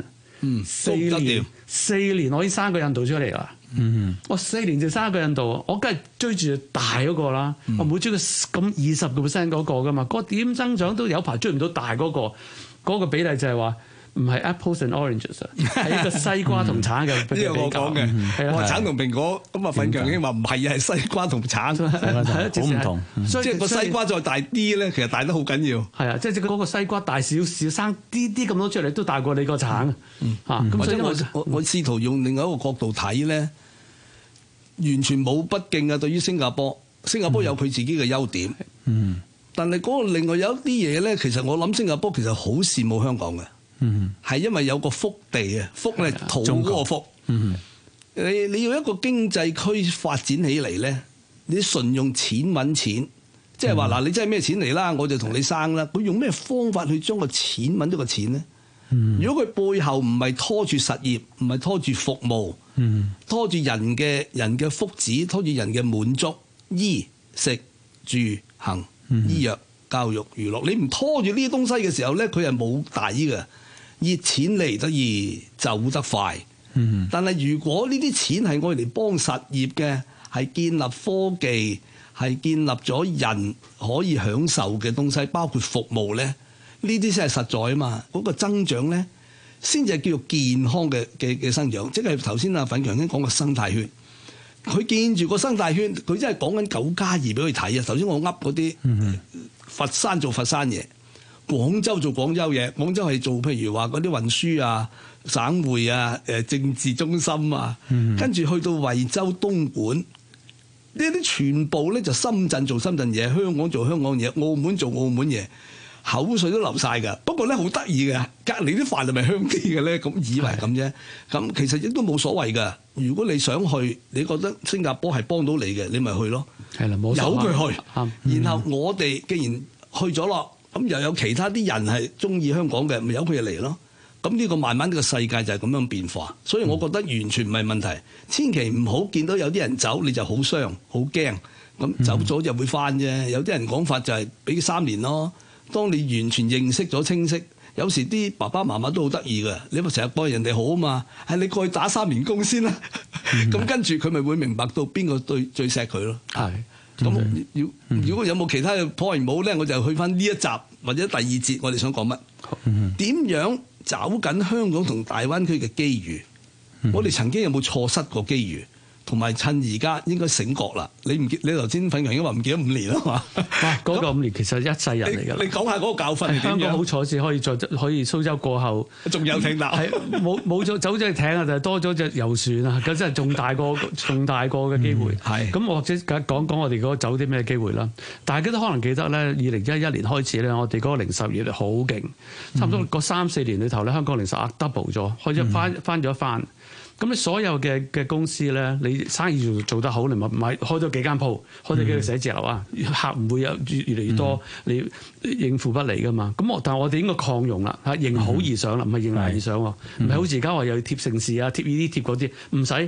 4年我已經生個印度出嚟啦。我4年就生一個印度，我梗係追住大嗰個啦。我唔會追佢咁20% 嗰個噶嘛。嗰個點增長都有排追唔到大嗰個。嗰個比例就係話唔係 apples and oranges， 係一個西瓜同橙嘅比較。 呢個我講嘅，我話橙同蘋果，咁啊奮強興話唔係啊，係西瓜同橙， 好唔同。 即係個西瓜再大啲咧，其實大得好緊要。 係啊，即係嗰個西瓜大少少，生啲咁多出嚟都大過你個橙。 或者我試圖用另外一個角度睇咧，完全冇不敬啊！對於新加坡，新加坡有佢自己嘅優點。但係嗰個另外有一啲嘢咧，其實我諗新加坡其實好羨慕香港嘅。係因為有個福地啊，福咧土嗰個福。你要一個經濟區發展起嚟咧，你純用錢揾錢，即係話嗱，你真係咩錢嚟啦，我就同你生啦。佢用咩方法去將個錢揾到個錢咧？如果佢背後唔係拖住實業，唔係拖住服務，拖住人嘅福祉，拖住人嘅滿足，衣食住行、醫藥、教育、娛樂，你唔拖住呢啲東西嘅時候咧，佢係冇底嘅。熱錢嚟得易，走得快。但係如果呢啲錢係愛嚟幫實業嘅，係建立科技，係建立咗人可以享受嘅東西，包括服務咧，呢啲先係實在啊嘛。嗰個增長咧，先至係叫做健康嘅生長。即係頭先阿奮強兄講個生態圈，佢見住個生態圈，佢真係講緊9+2俾佢睇啊！頭先我噏嗰啲，佛山做佛山嘢。廣州做廣州嘢，廣州係做譬如話嗰啲運輸啊、省會啊、政治中心啊，跟住去到惠州、東莞呢啲全部咧就深圳做深圳嘢，香港做香港嘢，澳門做澳門嘢，口水都流晒㗎。不過咧好得意嘅，隔離啲飯係咪香啲嘅咧？咁以為咁啫，咁其實亦都冇所謂㗎。如果你想去，你覺得新加坡係幫到你嘅，你咪去咯。係啦，冇由佢去。然後我哋既然去咗咯。咁又有其他啲人係中意香港嘅，咪由佢嚟咯。咁呢個慢慢呢個世界就係咁樣變化，所以我覺得完全唔係問題。千祈唔好見到有啲人走你就好傷好驚，咁走咗就會翻啫。有啲人講法就係俾3年咯。當你完全認識咗清晰，有時啲爸爸媽媽都好得意嘅，你咪成日幫人哋好啊嘛。係你過去打3年工先啦，咁跟住佢咪會明白到邊個最錫佢咯。係。咁如果有冇其他嘅 point 冇咧，我就去翻呢一集或者第2節，我哋想講乜？點樣找緊香港同大灣區嘅機遇？我哋曾經有冇錯失過機遇？同埋趁而家應該醒覺啦！你頭先奮強已經話唔記得5年啦嘛？ 嗰個5年其實一世人嚟㗎。 你講下嗰個教訓係點樣？ 香港好彩先可以蘇州過後， 仲有艇搭， 係冇咗走咗隻艇啊，就係多咗隻遊船啊！咁真係仲大個嘅機會。係咁，或者講我哋嗰個走啲咩機會啦？大家都可能記得咧，2011年開始咧，我哋嗰個零售業好勁，差唔多嗰3-4年裏頭咧，香港零售額 double 咗，開始翻咗一番。咁你所有嘅公司咧，你生意做得好，你咪買開咗幾間鋪，開咗幾個寫字樓啊，客唔會有越嚟越多，你應付不嚟噶嘛。但係我哋應該擴容啦，嚇迎好而上啦，唔係迎難而上喎，唔係好似而家話又要貼城市啊、貼呢啲貼嗰啲，唔使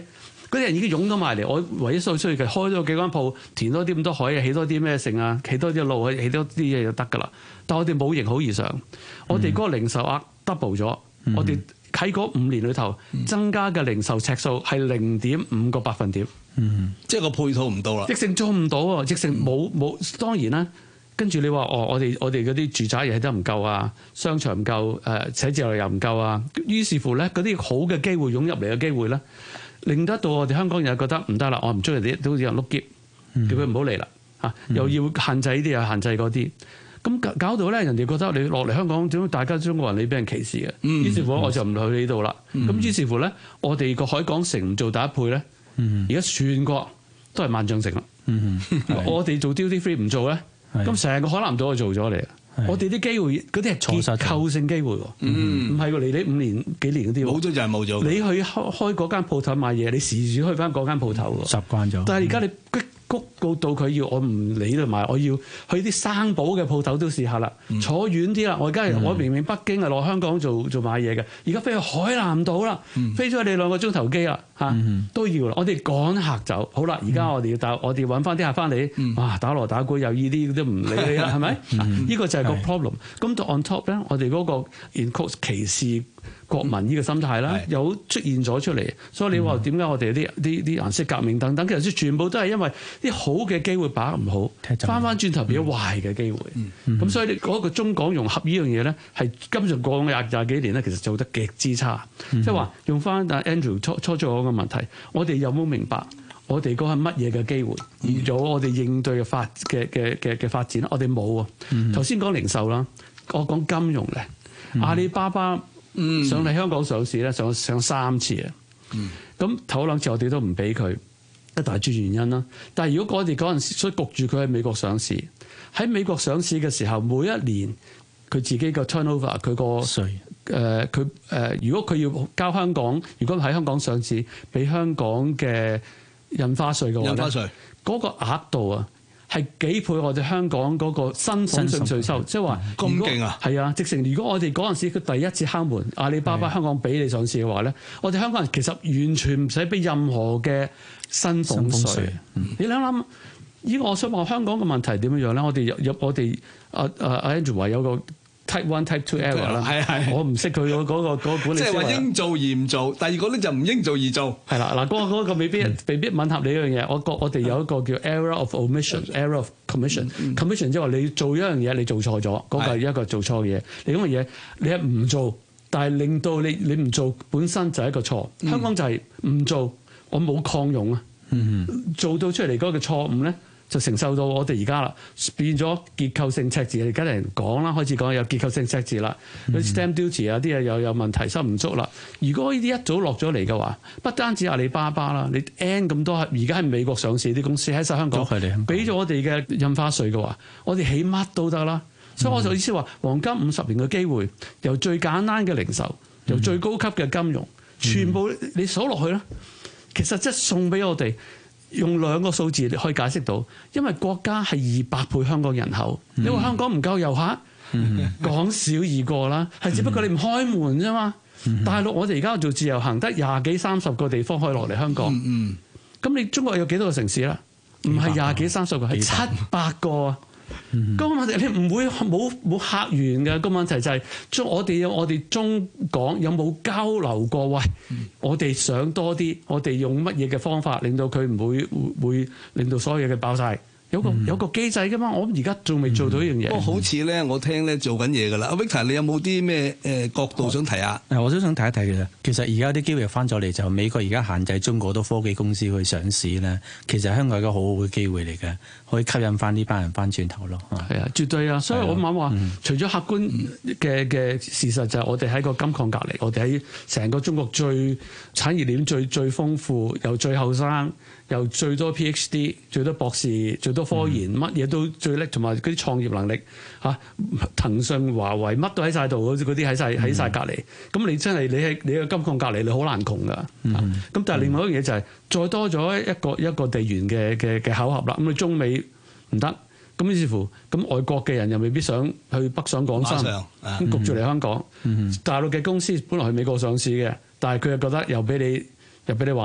嗰啲人已經湧咗埋嚟，我唯一需要嘅開多幾間鋪，填多啲咁多海啊，起多啲咩剩啊，起多啲路啊，起多啲嘢就得㗎啦。但我哋冇迎好而上，我哋嗰個零售額 double 咗，我哋喺嗰5年裏頭增加嘅零售尺數係0.5個百分點， 即係個配套唔到啦， 直成做唔到啊，直成冇當然啦。跟住你話我哋嗰啲住宅嘢都唔夠啊，商場唔夠，寫字樓又唔夠啊，於是乎咧嗰啲好嘅機會湧入嚟嘅機會咧，令得到我哋香港人覺得唔得啦，我唔中意啲都好似人碌篋，叫佢唔好嚟啦嚇，又要限制呢啲又限制嗰啲，咁搞到咧人哋覺得你落嚟香港點解大家中國人你俾人歧視嘅，於是乎我就唔去呢度啦。咁於是乎咧，我哋個海港城唔做第一倍咧，而家全國都係萬象城啦。我哋做 duty free 唔做咧。咁成個海南島就做咗嚟，我哋啲機會嗰啲係結構性機會喎，唔係喎，嚟你5年幾年嗰啲喎， 冇咗就係冇咗。 你去開嗰間鋪頭買嘢，你時時去翻嗰間鋪頭喎， 習慣咗。 但係而家你谷到佢要我唔理度買，我要去啲生保嘅鋪頭都試下啦，坐遠啲啦。我而家我明明北京係落香港做買嘢嘅，而家飛去海南島啦，飛咗你2個鐘頭機啦嚇，都要啦。我哋趕客走，好啦，而家我哋要揾翻啲客翻嚟，哇打鑼打鼓又依啲都唔理你啦，係咪？呢個就係個 problem。咁到 on top 咧，我哋嗰個 in quote 歧視國民呢個心態啦，有出現咗出嚟，所以你話點解我哋啲顏色革命等等，其實全部都係因為啲好嘅機會把握唔好，翻轉頭變咗壞嘅機會。咁所以嗰個中港融合呢樣嘢咧，係今上過廿幾年咧，其實做得極之差。即係話用翻 Andrew 初咗個問題，我哋有冇明白我哋嗰係乜嘢嘅機會，而咗我哋應對嘅發展，我哋冇啊。頭先講零售啦，我講金融咧，阿里巴巴。上嚟香港上市咧，上3次啊！咁頭2次我哋都唔俾佢，一大專原因啦。但係如果我哋嗰陣時所以焗住佢喺美國上市，喺美國上市嘅時候，每一年佢自己個 turnover 佢個稅如果佢要交香港，如果喺香港上市，俾香港嘅印花稅嘅話咧，嗰個額度啊！係幾倍我哋香港嗰個薪俸稅收，即係話咁勁啊！係啊，直情如果我哋嗰陣時佢第一次敲門，阿里巴巴香港俾你上市嘅話咧，我哋香港人其實完全唔使俾任何嘅薪俸稅。你諗諗，依個我想話香港嘅問題點樣咧？我哋Andrew 話有個 Type 1、Type 2 error 啦，我唔識佢嗰個管理。即係話應做而唔做，第二個咧就唔應做而做。係啦， 嗱嗰個未必吻合你一樣嘢。我哋有一個叫 error of omission、error of commission。commission 即係話你做一樣嘢，你做錯咗，嗰個係一個做錯嘅嘢。你咁嘅嘢，你係唔做，但係令到你唔做本身就係一個錯。香港就係唔做，我冇擴容啊。做到出嚟嗰個錯誤咧，就承受到我哋而家啦，變咗結構性赤字。而家人講啦，開始講有結構性赤字啦，啲 stamp duty 啊啲嘢又有問題，收唔足啦。如果呢啲一早落咗嚟嘅話，不單止阿里巴巴啦，你 N 咁多而家喺美國上市啲公司喺晒香港，俾咗我哋嘅印花稅嘅話，我哋起乜都得啦。所以我就意思話，黃金50年嘅機會，由最簡單嘅零售，由最高級嘅金融，全部你數落去啦，其實即係送俾我哋。用2個數字可以解釋到，因為國家係200倍香港人口，你話香港唔夠遊客，講少易過啦，係只不過你唔開門啫嘛。大陸我哋而家做自由行，得20幾30個地方可以落嚟香港，咁你中國有幾多個城市啦？唔係20幾30個，係700個啊。咁問題你唔會冇客源嘅，個問題就係我哋中港有冇交流過？喂，我哋想多啲，我哋用乜嘢嘅方法令到佢唔會令到所有嘢嘅爆晒？有個機制噶嘛？我而家仲未做到呢樣嘢。 不過好似咧，我聽咧做緊嘢噶啦。阿 Victor，你有冇啲咩角度想提下？ 我都想提一提嘅。其實而家啲機會翻咗嚟，就美國而家限制中國好多科技公司去上市咧。其實香港係一個好好嘅機會嚟嘅，可以吸引翻呢班人翻轉頭咯。 係啊，絕對啊！所以我諗話，除咗客觀嘅事實就係我哋喺個金礦隔離，我哋喺成個中國最產業鏈最豐富，又最後生。又最多 PhD， 最多博士，最多科研，乜嘢都最叻，同埋嗰啲創業能力嚇，騰訊、華為乜都喺晒度，嗰啲喺晒隔離。咁你真係你喺個金礦隔離，你好難窮噶。咁但係另外一樣嘢就係再多咗一個地緣嘅巧合啦。咁你中美唔得，咁於是乎咁外國嘅人又未必想去北上廣深，咁焗住嚟香港。大陸嘅公司本來去美國上市嘅，但係佢又覺得又俾你玩。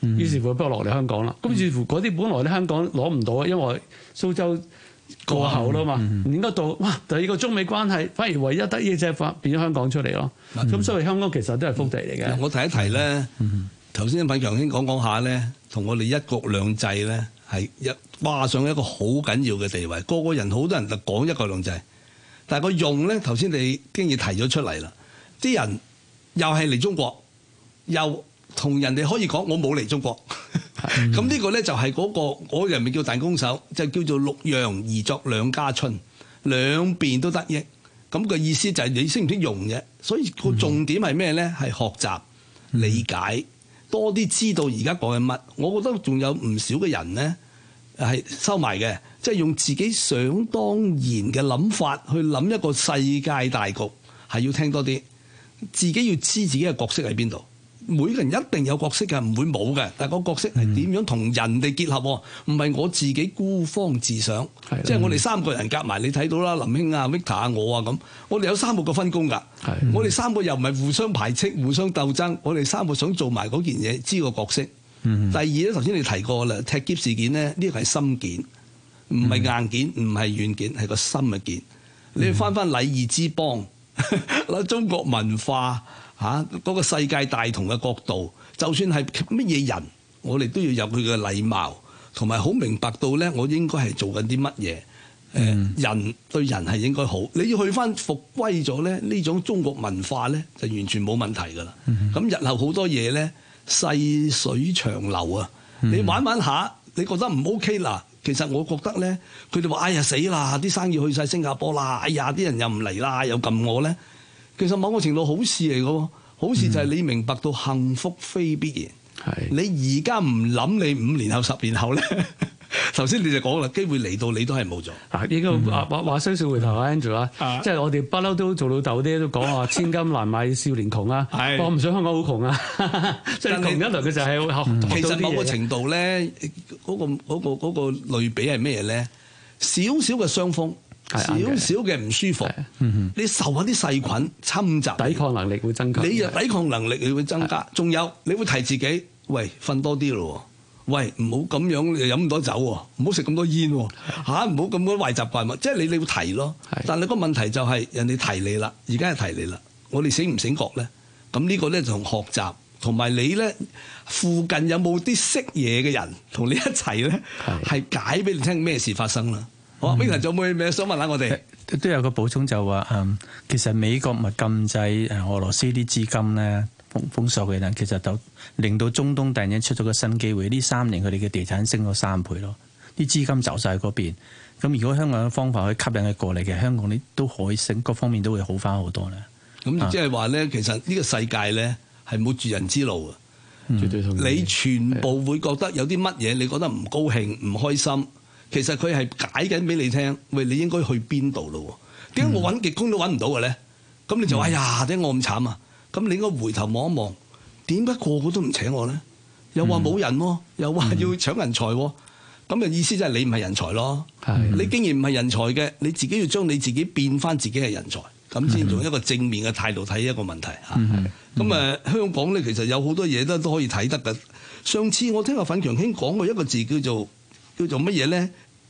於是乎不如落嚟香港啦。咁於是乎嗰啲本來咧香港攞唔到啊，因為蘇州過後啦嘛，唔應該到哇！第二個中美關係反而唯一得益就係變咗香港出嚟咯。咁所以香港其實都係福地嚟嘅。 我提一提咧，頭先品強兄講下咧，同我哋一國兩制咧係畫上一個好緊要嘅地位。個個人好多人就講一國兩制，但係個用咧，頭先你經已提咗出嚟啦。啲人又係嚟中國，又同人哋可以講我冇嚟中國。咁呢個咧就係嗰個人咪叫彈弓手，就叫做六樣而作兩家春，兩邊都得益。咁個意思就係你識唔識用啫。所以個重點係咩咧？係學習、理解，多啲知道而家講緊乜。我覺得仲有唔少嘅人咧係收埋嘅，即係用自己想當然嘅諗法去諗一個世界大局，係要聽多啲，自己要知自己嘅角色喺邊度。每個人一定有角色嘅，唔會冇嘅。但係個角色係點樣同人哋結合？唔係我自己孤芳自賞。即係我哋三個人夾埋，你睇到啦，林兄啊、Victor 啊、我啊咁，我哋有三個分工㗎。我哋三個又唔係互相排斥、互相鬥爭，我哋三個想做埋嗰件嘢，知個角色。第二咧，頭先你提過啦，踢篋事件咧，呢個係心件，唔係硬件，唔係軟件，係個心嘅件。你翻禮儀之邦，嗱中國文化。嗰個世界大同嘅角度，就算係乜嘢人，我哋都要有佢嘅禮貌，同埋好明白到咧，我應該係做緊啲乜嘢。人對人係應該好，你要去翻復歸咗咧，呢種中國文化咧就完全冇問題㗎啦。咁日後好多嘢咧，細水長流啊！你玩下，你覺得唔 OK 啦？其實我覺得咧，佢哋話：哎呀死啦！啲生意去晒新加坡啦！哎呀，啲人又唔嚟啦，又撳我咧。其實某個程度好事嚟嘅，好事就係你明白到幸福非必然。你而家唔諗，你5年後、10年後咧，頭先你就講啦，機會嚟到你都係冇咗。 呢個話雖小回頭啊 Andrew 啊，即係我哋不嬲都做老豆啲都講話千金難買少年窮啊。我唔想香港好窮啊，即係窮一輪嘅就係其實某個程度咧，嗰個類比係咩咧？少少嘅傷風。少少嘅唔舒服，你受下啲細菌侵襲， 抵抗能力會增加。 你抵抗能力你會增加，仲有你會提自己，喂，瞓多啲咯，喂，唔好咁樣飲咁多酒喎，唔好食咁多煙喎，唔好咁多壞習慣喎，即係你會提咯。但係個問題就係人哋提你啦，而家係提你啦，我哋醒唔醒覺咧？咁呢個咧就同學習，同埋你咧附近有冇啲識嘢嘅人同你一齊咧，係解俾你聽咩事發生啦。Victor 仲有冇咩想問下我哋？ 都有個補充就話其實美國咪禁制俄羅斯啲資金咧封鎖嘅人，其實就令到中東突然間出咗個新機會。呢3年佢哋嘅地產升咗3倍咯，啲資金走晒嗰邊。咁如果香港嘅方法可以吸引佢過嚟嘅，香港呢都可以升，各方面都會好翻好多咧。 咁即係話咧，其實呢個世界咧係冇絕人之路嘅。絕對同意。你全部會覺得有啲乜嘢，你覺得唔高興、唔開心。其實佢係解緊俾你聽，喂，你應該去邊度咯？點解我揾極工都揾唔到嘅咧？咁你就哎呀，點解我咁慘啊？咁你應該回頭望一望，點解個個都唔請我咧？又話冇人喎，又話要搶人才喎。咁嘅意思即係你唔係人才咯。你既然唔係人才嘅，你自己要將你自己變翻自己係人才，咁先用一個正面嘅態度睇一個問題嚇。咁香港咧其實有好多嘢都可以睇得嘅。上次我聽阿粉強兄講過一個字叫做乜嘢咧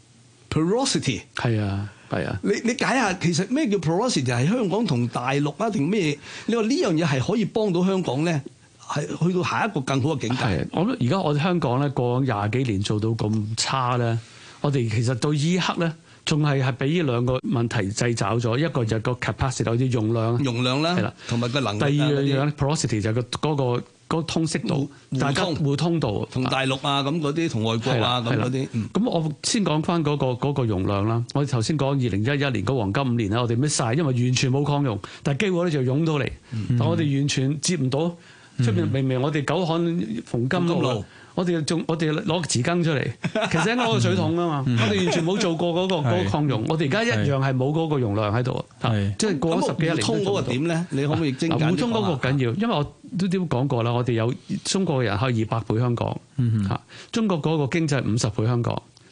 ？porosity 係啊。你解下其實咩叫 porosity？ 係香港同大陸啊定咩？你話呢樣嘢係可以幫到香港咧，係去到下一個更好嘅境界。 我諗而家我哋香港咧過20幾年做到咁差咧，我哋其實到依一刻咧，仲係俾呢兩個問題掣肘咗。一個就係個 capacity 有啲容量啦，係啦，同埋個能力。第二樣 porosity 就係嗰個通識度，大家互通度， 同大陸啊咁嗰啲，同外國啊咁嗰啲。 咁我先講翻嗰個容量啦。我哋頭先講2011年嗰黃金5年啦，我哋咩晒，因為完全冇擴容，但係機會咧就湧到嚟，但我哋完全接唔到。出邊明明我哋九漢馮金路，我哋攞個匙羹出嚟，其實應該攞個水桶啊嘛。我哋完全冇做過嗰個擴容，我哋而家一樣係冇嗰個容量喺度。即係過咗10幾年。互通嗰個點咧？你可唔可以精簡？ 互通嗰個緊要，因為我都講過啦，我哋有中國嘅人可以200倍香港，中國嗰個經濟50倍香港，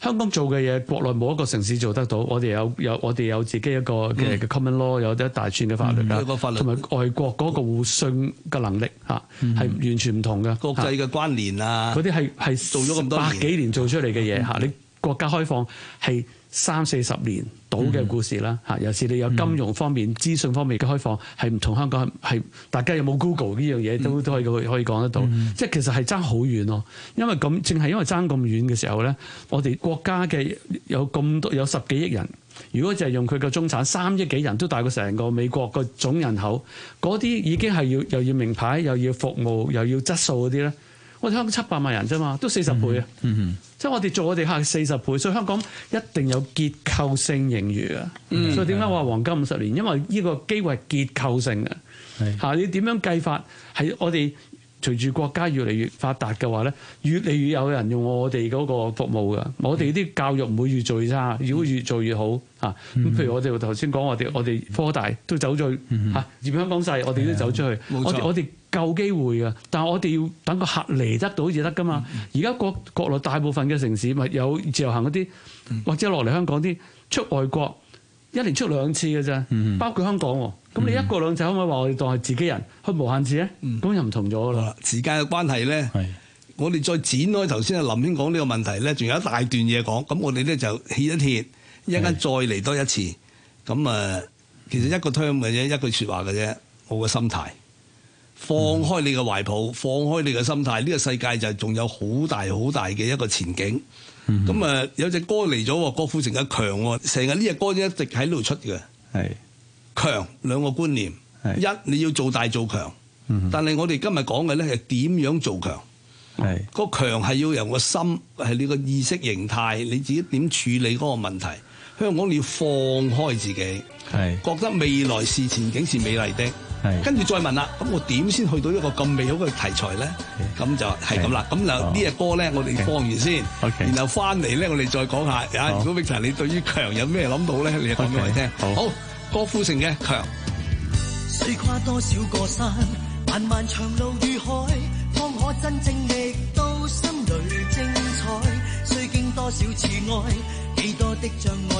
香港做嘅嘢，國內冇一個城市做得到。我哋有自己一個嘅 common law，有一大串嘅法律啦，同埋外國嗰個互信嘅能力嚇係完全唔同嘅。 國際嘅關聯啊， 嗰啲係做咗咁多年百幾年做出嚟嘅嘢嚇。你國家開放係30-40年到嘅故事啦嚇。尤其是你有金融方面、資訊方面嘅開放，係唔同香港係大家有冇 Google 呢樣嘢都可以講得到。即係其實係爭好遠咯。因為咁正係因為爭咁遠嘅時候咧，我哋國家嘅有咁多有10幾億人，如果就係用佢嘅中產3億幾人都大過成個美國個總人口，嗰啲已經係又要名牌，又要服務，又要質素嗰啲咧。我哋香港700萬人啫嘛，都40倍啊！即係我哋做我哋客40倍，所以香港一定有結構性盈餘啊！所以點解我話黃金50年？因為呢個機會係結構性嘅嚇。你點樣計法係我哋隨住國家越嚟越發達嘅話咧，越嚟越有人用我哋嗰個服務㗎。我哋啲教育唔會越做越差，如果越做越好嚇。咁譬如我哋頭先講，我哋科大都走咗嚇，嫌香港細，我哋都走出去。我哋夠機會㗎，但係我哋要等個客嚟得到至得㗎嘛。而家國內大部分嘅城市咪有自由行嗰啲，或者落嚟香港啲出外國1年出2次嘅啫，包括香港喎。咁你1國2制可唔可以話我哋當係自己人去無限次咧？咁又唔同咗啦。 時間嘅關係咧，我哋再展開頭先阿林兄講呢個問題咧，仲有一大段嘢講。咁我哋咧就歇一歇，一陣間再嚟多一次。咁其實一個 term 嘅啫，一句説話嘅啫，我個心態。放開你嘅懷抱，放開你嘅心態，呢個世界就仲有好大好大嘅一個前景。咁有隻歌嚟咗，郭富城嘅強喎，成日呢隻歌一直喺度出嘅。係強兩個觀念，一你要做大做強，但係我哋今日講嘅咧係點樣做強。個強係要由個心，係你個意識形態，你自己點處理嗰個問題。香港你要放開自己，覺得未來是前景是美麗的。跟住再問啦，咁我點先去到一個咁美好嘅題材咧？咁就係咁啦。咁就呢隻歌咧，我哋放完先，然後翻嚟咧，我哋再講下。如果 Victor 你對於強有咩諗到咧，你就講俾我哋聽。好，郭富城嘅強。 雖跨多少個山，漫漫長路如海，方可真正覓到心裏精彩。雖經多少次愛，幾多的障礙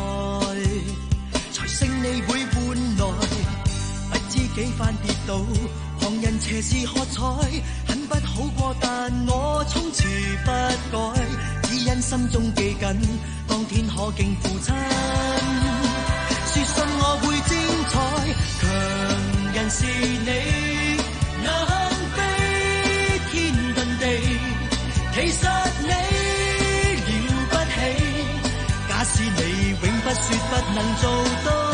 才勝利會換來。不知幾番跌倒，旁人斜視喝彩，很不好過，但我從此不改，只因心中記緊，當天可敬父親。說信我會精彩，強人是你，能飛天遁地，其實你了不起，假使你永不說不能做到。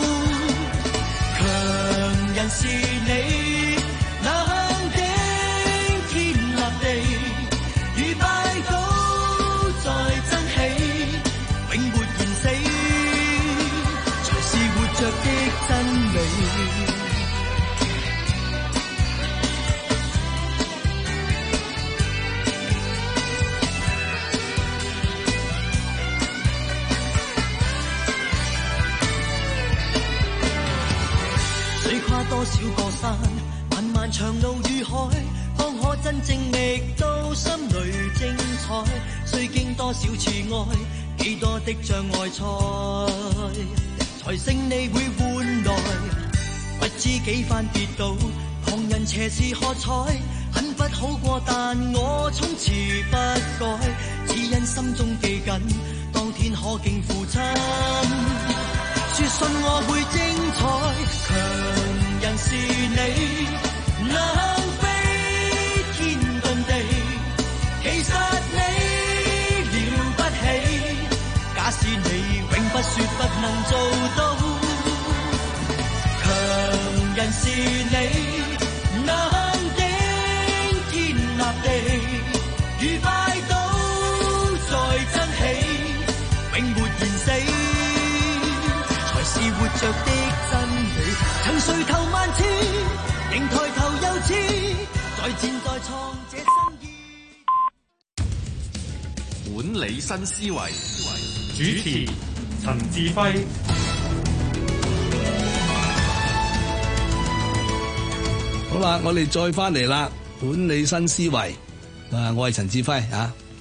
強人是你，能頂天立地，如拜倒再爭起，永沒言死，才是活着的真理。多少個山，漫漫長路如海，方可真正覓到心裏精彩。雖經多少次愛，幾多的障礙才勝利會換來。不知幾番跌倒，旁人斜視喝彩，很不好過，但我從此不改，只因心中記緊，當天可敬父親。說信我會精彩，強人是你，能飛天遁地，其實你了不起，假使你永不說不能做到。強人是你，能頂天立地，如拜倒再爭起，永沒言死，是活着的真理。曾垂頭萬次，仍抬頭又似再戰再創這生意。 管理新思維， 主持陳志輝。 好啦，我哋再翻嚟啦，管理新思維。我係陳志輝啊。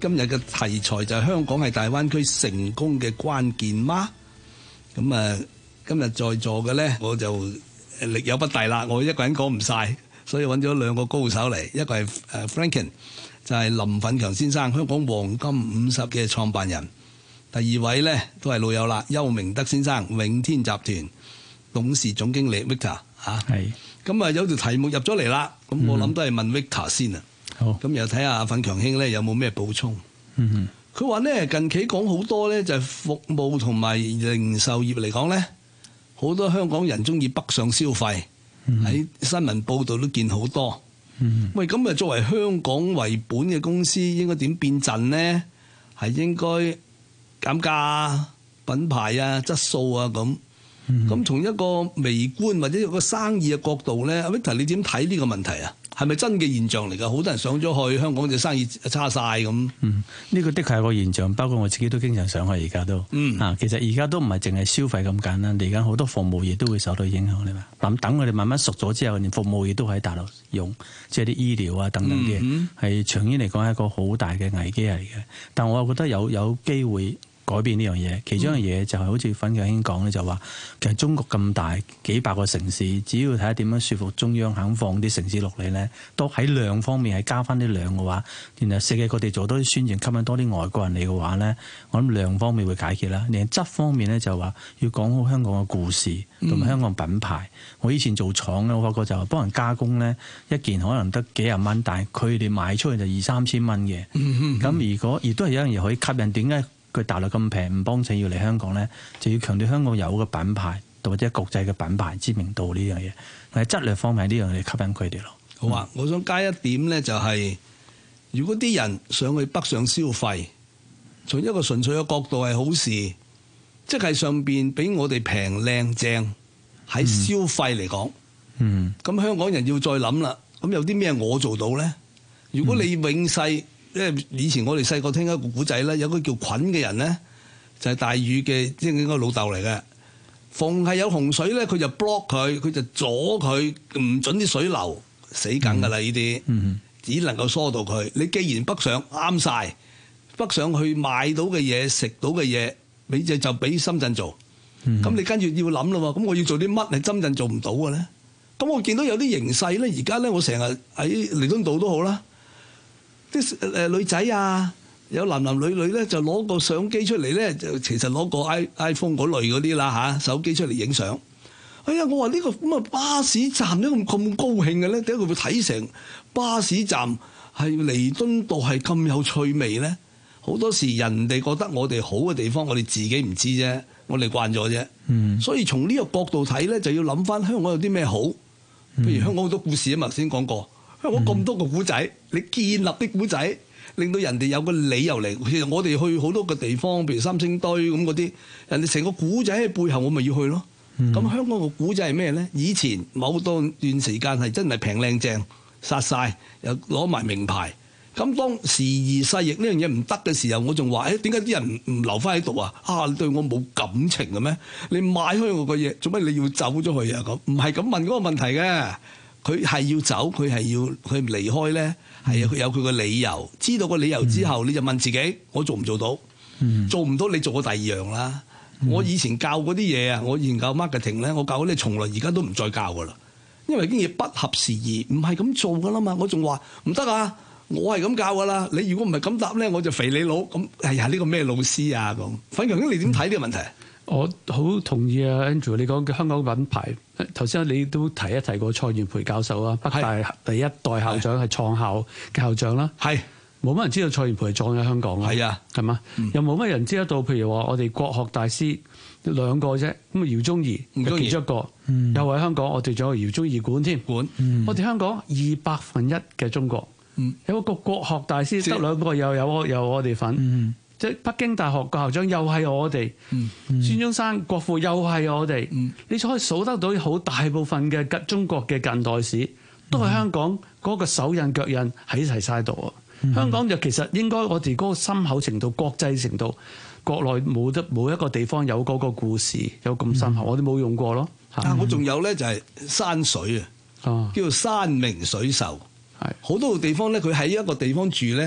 今日嘅題材就係香港係大灣區成功嘅關鍵嗎？咁啊，今日在座嘅咧，我就力有不逮啦，我一個人講唔晒，所以揾咗兩個高手嚟，一個係Franken， 就係林奮強先生，香港黃金50嘅創辦人。第二位咧都係老友啦，邱明德先生，永天集團董事總經理 Victor 嚇。係。咁啊有條題目入咗嚟啦，咁我諗都係問 Victor 先啊。好。咁又睇下奮強兄咧有冇咩補充？佢話咧近期講好多咧就係服務同埋零售業嚟講咧，好多香港人中意北上消費，喺新聞報道都見好多。喂，咁啊作為香港為本嘅公司，應該點變陣呢？係應該減價、品牌啊、質素啊咁。咁從一個微觀或者一個生意嘅角度咧，阿 Victor 你點睇呢個問題啊？係咪真嘅現象嚟㗎？好多人上咗去香港就生意差晒咁。 呢個的確係個現象，包括我自己都經常上去而家都。其實而家都唔係淨係消費咁簡單，嚟緊好多服務業都會受到影響。你話等我哋慢慢熟咗之後，連服務業都喺大陸用，即係啲醫療啊等等嘅，係長遠嚟講係一個好大嘅危機嚟嘅。但我又覺得有機會改變呢樣嘢，其中一樣嘢就係好似奮強兄講咧，就話其實中國咁大幾百個城市，只要睇下點樣說服中央肯放啲城市落嚟咧，都喺量方面係加翻啲量嘅話，然後世界各地做多啲宣傳，吸引多啲外國人嚟嘅話咧，我諗量方面會解決啦。連質方面咧就話要講好香港嘅故事同埋香港品牌。我以前做廠咧，我發覺就係幫人加工咧，一件可能得幾廿蚊，但係佢哋賣出去就2-3千蚊嘅。咁如果亦都係有一樣嘢可以吸引，點解佢大陸咁平唔幫襯要嚟香港咧？就要強調香港有嘅品牌或者國際嘅品牌知名度呢樣嘢，喺質量方面呢樣嘢吸引佢哋咯。 好啊，我想加一點咧，就係如果啲人上去北上消費，從一個純粹嘅角度係好事，即係上邊俾我哋平靚正喺消費嚟講，咁香港人要再諗啦。咁有啲咩我做到咧？如果你永世因為以前我哋細個聽一個古仔咧，有個叫菌嘅人咧，就係大禹嘅即係應該老豆嚟嘅。逢係有洪水咧，佢就 block 佢就阻佢，唔準啲水流，死梗㗎啦！呢啲只能夠疏導佢。你既然北上啱晒，北上去買到嘅嘢、食到嘅嘢，你就俾深圳做。咁你跟住要諗啦喎，咁我要做啲乜係深圳做唔到嘅咧？咁我見到有啲形勢咧，而家咧我成日喺彌敦道都好啦。啲女仔啊，有男女女咧，就攞個相機出嚟咧，就其實攞個 iPhone 嗰類嗰啲啦手機出嚟影相。哎呀，我話呢個咁啊巴士站點解咁高興嘅咧？點解佢會睇成巴士站係彌敦道係咁有趣味咧？好多時人哋覺得我哋好嘅地方，我哋自己唔知啫，我哋慣咗啫。所以從呢個角度睇咧，就要諗翻香港有啲咩好。譬如香港好多故事啊嘛，頭先講過。香港咁多個古仔，你建立啲古仔，令到人哋有個理由嚟。其實我哋去好多個地方，譬如三星堆咁嗰啲，人哋成個古仔喺背後，我咪要去咯。咁香港個古仔係咩咧？以前某段時間係真係平靚正，殺晒又攞埋名牌。咁當時移世易呢樣嘢唔得嘅時候，我仲話：點解啲人唔留翻喺度啊？你對我冇感情嘅咩？你買開我個嘢，做乜你要走咗去啊？咁唔係咁問嗰個問題嘅。佢係要走，佢離開咧，係有佢個理由。知道個理由之後，你就問自己：我做唔做到？做唔到，你做過第二樣啦。我以前教嗰啲嘢啊，我以前教 marketing 咧，我教嗰啲從來而家都唔再教噶啦，因為已經嘢不合時宜，唔係咁做噶啦嘛。我仲話唔得啊，我係咁教噶啦。你如果唔係咁答咧，我就肥你佬。咁哎呀，呢個咩老師啊咁？奮強兄，你點睇呢個問題？ 我好同意啊 Andrew 你講嘅香港品牌。頭先你都提過蔡元培教授啊，北大第一代校長係創校嘅校長啦。係冇乜人知道蔡元培係撞喺香港啊。係啊，係嘛？又冇乜人知得到，譬如話我哋國學大師兩個啫。咁啊，姚宗儀係其中一個，又喺香港。我哋仲有姚宗儀館添。我哋香港2/100嘅中國，有個國學大師得兩個，又有我哋份。即係北京大學個校長又係我哋，孫中山國父又係我哋，你就可以數得到好大部分嘅中國嘅近代史都係香港嗰個手印腳印喺齊晒度啊！香港就其實應該我哋嗰個深厚程度、國際程度，國內冇一個地方有嗰個故事有咁深厚，我哋冇用過咯。 我仲有咧就係山水啊，叫做山明水秀。係好多個地方咧，佢喺一個地方住咧。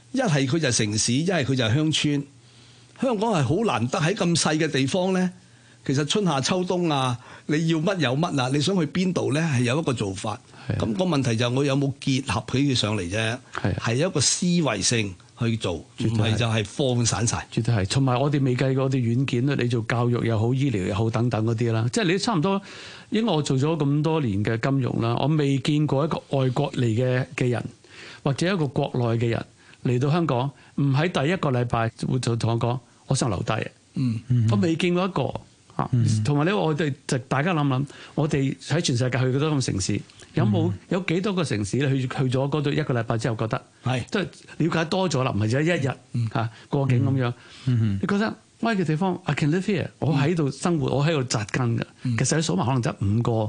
一係佢就係城市，一係佢就係鄉村。香港係好難得喺咁細嘅地方咧，其實春夏秋冬啊，你要乜有乜啊，你想去邊度咧係有一個做法。咁個問題就係我有冇結合起佢上嚟啫，係一個思維性去做，唔係就係放散晒。 絕對係，同埋我哋未計過我哋軟件咧，你做教育又好、醫療又好等等嗰啲啦，即係你差唔多。因為我做咗咁多年嘅金融啦，我未見過一個外國嚟嘅人，或者一個國內嘅人嚟到香港，唔喺第一個禮拜就同我講，我想留低。我未見過一個嚇。同埋咧，我哋就大家諗諗，我哋喺全世界去幾多個城市？有幾多個城市咧？去咗嗰度一個禮拜之後，覺得即係了解多咗啦，唔係就一日嚇過境咁樣。你覺得我喺嘅地方 I can live here， 我喺度生活，我喺度扎根嘅。其實你數埋可能得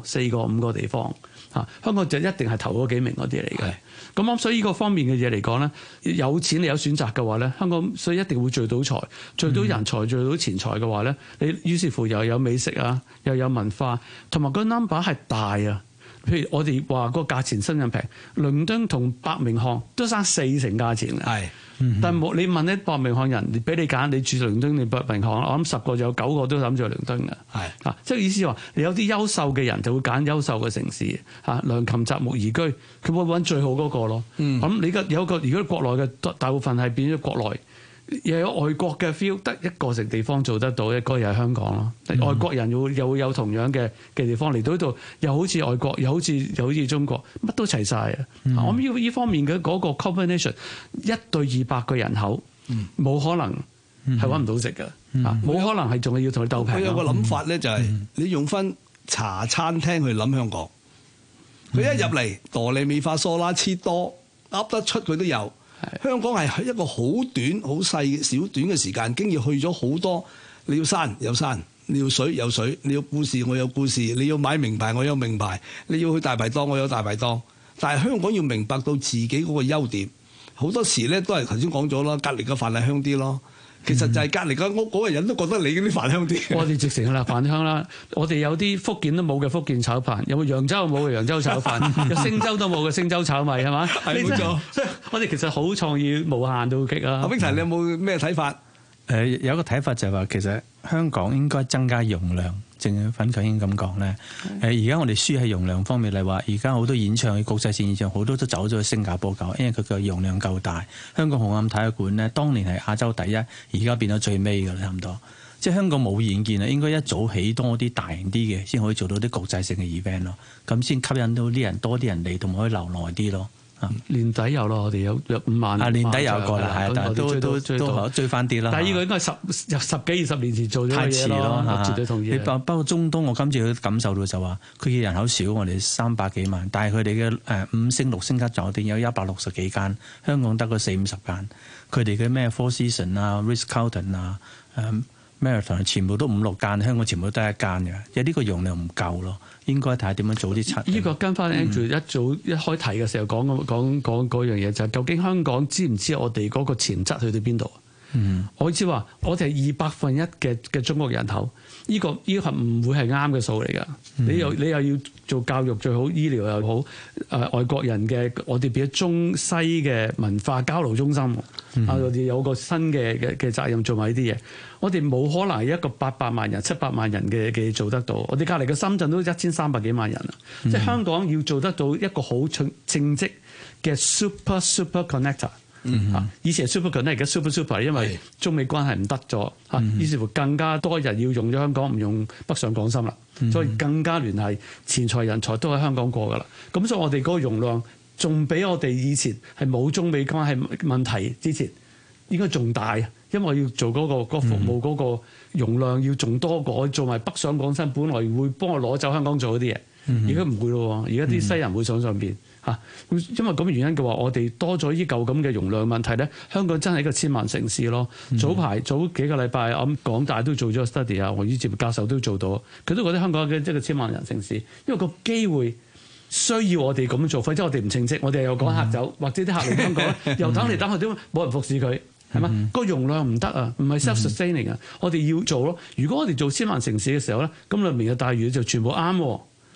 4個地方嚇。香港就一定係頭嗰幾名嗰啲嚟嘅。咁所以呢個方面嘅嘢嚟講咧，有錢你有選擇嘅話咧，香港所以一定會聚到財、聚到人才、聚到錢財嘅話咧，你於是乎又有美食啊，又有文化，同埋個 number 係大啊。譬如我哋話個價錢新人平，倫敦同伯明翰都爭4成價錢嘅。但係你問啲伯明翰人，俾你揀，你住倫敦定伯明翰，我諗10個就有9個都諗住去倫敦嘅。即係意思話，你有啲優秀嘅人就會揀優秀嘅城市良禽擇木而居，佢會揾最好嗰個咯。咁你有個如果國內嘅大部分係變咗國內。又有外國嘅 feel， 得一個地方做得到，一個又係香港咯。外國人又會有同樣嘅地方嚟到呢度，又好似外國，又好似中國，乜都齊晒啊！我諗呢方面嘅嗰個 combination， 1對200個人口，冇可能係揾唔到食嘅，冇可能係仲係要同佢鬥平。 佢有個諗法咧，就係你用翻茶餐廳去諗香港，佢一入嚟哆唻咪發嗦啦切多噏得出佢都有。香港係一個好短、好細小短嘅時間，經已去咗好多。你要山有山，你要水有水，你要故事我有故事，你要買名牌我有名牌，你要去大排檔我有大排檔。但係香港要明白到自己嗰個優點，好多時咧都係頭先講咗啦，隔離嘅飯係香啲咯。其實就係隔離間屋嗰個人都覺得你嗰啲飯香啲。我哋直情啦，飯香啦。我哋有啲福建都冇嘅福建炒飯，有冇揚州冇嘅揚州炒飯，有星洲都冇嘅星洲炒米係嘛？係冇錯。我哋其實好創意無限到極啊！阿冰齊，你有冇咩睇法？ 有一個睇法就係話，其實香港應該增加容量。正如粉強英咁講咧，而家我哋輸喺容量方面嚟話，而家好多演唱嘅國際線演唱好多都走咗去新加坡搞，因為佢嘅容量夠大。香港紅磡體育館咧，當年係亞洲第一，而家變咗最尾㗎啦，差唔多。即係香港冇遠見啊，應該一早起多啲大型啲嘅，先可以做到啲國際性嘅 event 咯，咁先吸引到啲人多啲人嚟，同埋可以留耐啲咯。 年底有咯，我哋有5萬。 年底有個啦，係，但係都追翻啲啦。 但係呢個應該係十幾20年前做咗嘅嘢咯，絕對同意。 包括中東，我今次都感受到就話，佢嘅人口少，我哋300幾萬，但係佢哋嘅5星6星級酒店有160幾間，香港得個40-50間。佢哋嘅咩 Four Seasons 啊、Ritz-Carlton 啊、Marathon 全部都5-6間，香港全部都得1間嘅，有呢個容量唔夠咯。應該睇下點樣早啲出。呢個跟翻 Andrew 一開題嘅時候講嗰樣嘢，就係究竟香港知唔知我哋嗰個潛質去到邊度？我知話我哋係1/2嘅中國人口，呢個係唔會係啱嘅數嚟㗎。你又要做教育最好，醫療又好，外國人嘅我哋變咗中西嘅文化交流中心。我哋有個新嘅責任做埋呢啲嘢。我哋冇可能係一個800萬人、700萬人嘅做得到。我哋隔離嘅深圳都1300幾萬人啦。即係香港要做得到一個好正職嘅 super connector。以前係 super connector，而家 super， 因為中美關係唔得咗嚇，於是乎更加多人要用咗香港，唔用北上廣深啦，所以更加聯繫錢財人才都喺香港過噶啦。咁所以我哋嗰個容量仲比我哋以前係冇中美關係問題之前應該仲大，因為要做嗰個服務嗰個容量要仲多過做埋北上廣深，本來會幫我攞走香港做嗰啲嘢，而家唔會咯。而家啲西人會上邊。因為咁嘅原因嘅話，我哋多咗依舊咁嘅容量問題咧，香港真係一個千萬城市咯。早幾個禮拜，我諗港大都做咗 study 啊，黃宇哲教授都做到，佢都覺得香港係一個千萬人城市，因為個機會需要我哋咁做，否則我哋唔稱職，我哋又趕客走，或者啲客嚟香港又等嚟等去都冇人服侍佢，係嘛？個容量唔得啊，唔係 self-sustaining 啊，我哋要做咯。如果我哋做千萬城市嘅時候咧，咁明日大嶼就全部啱喎。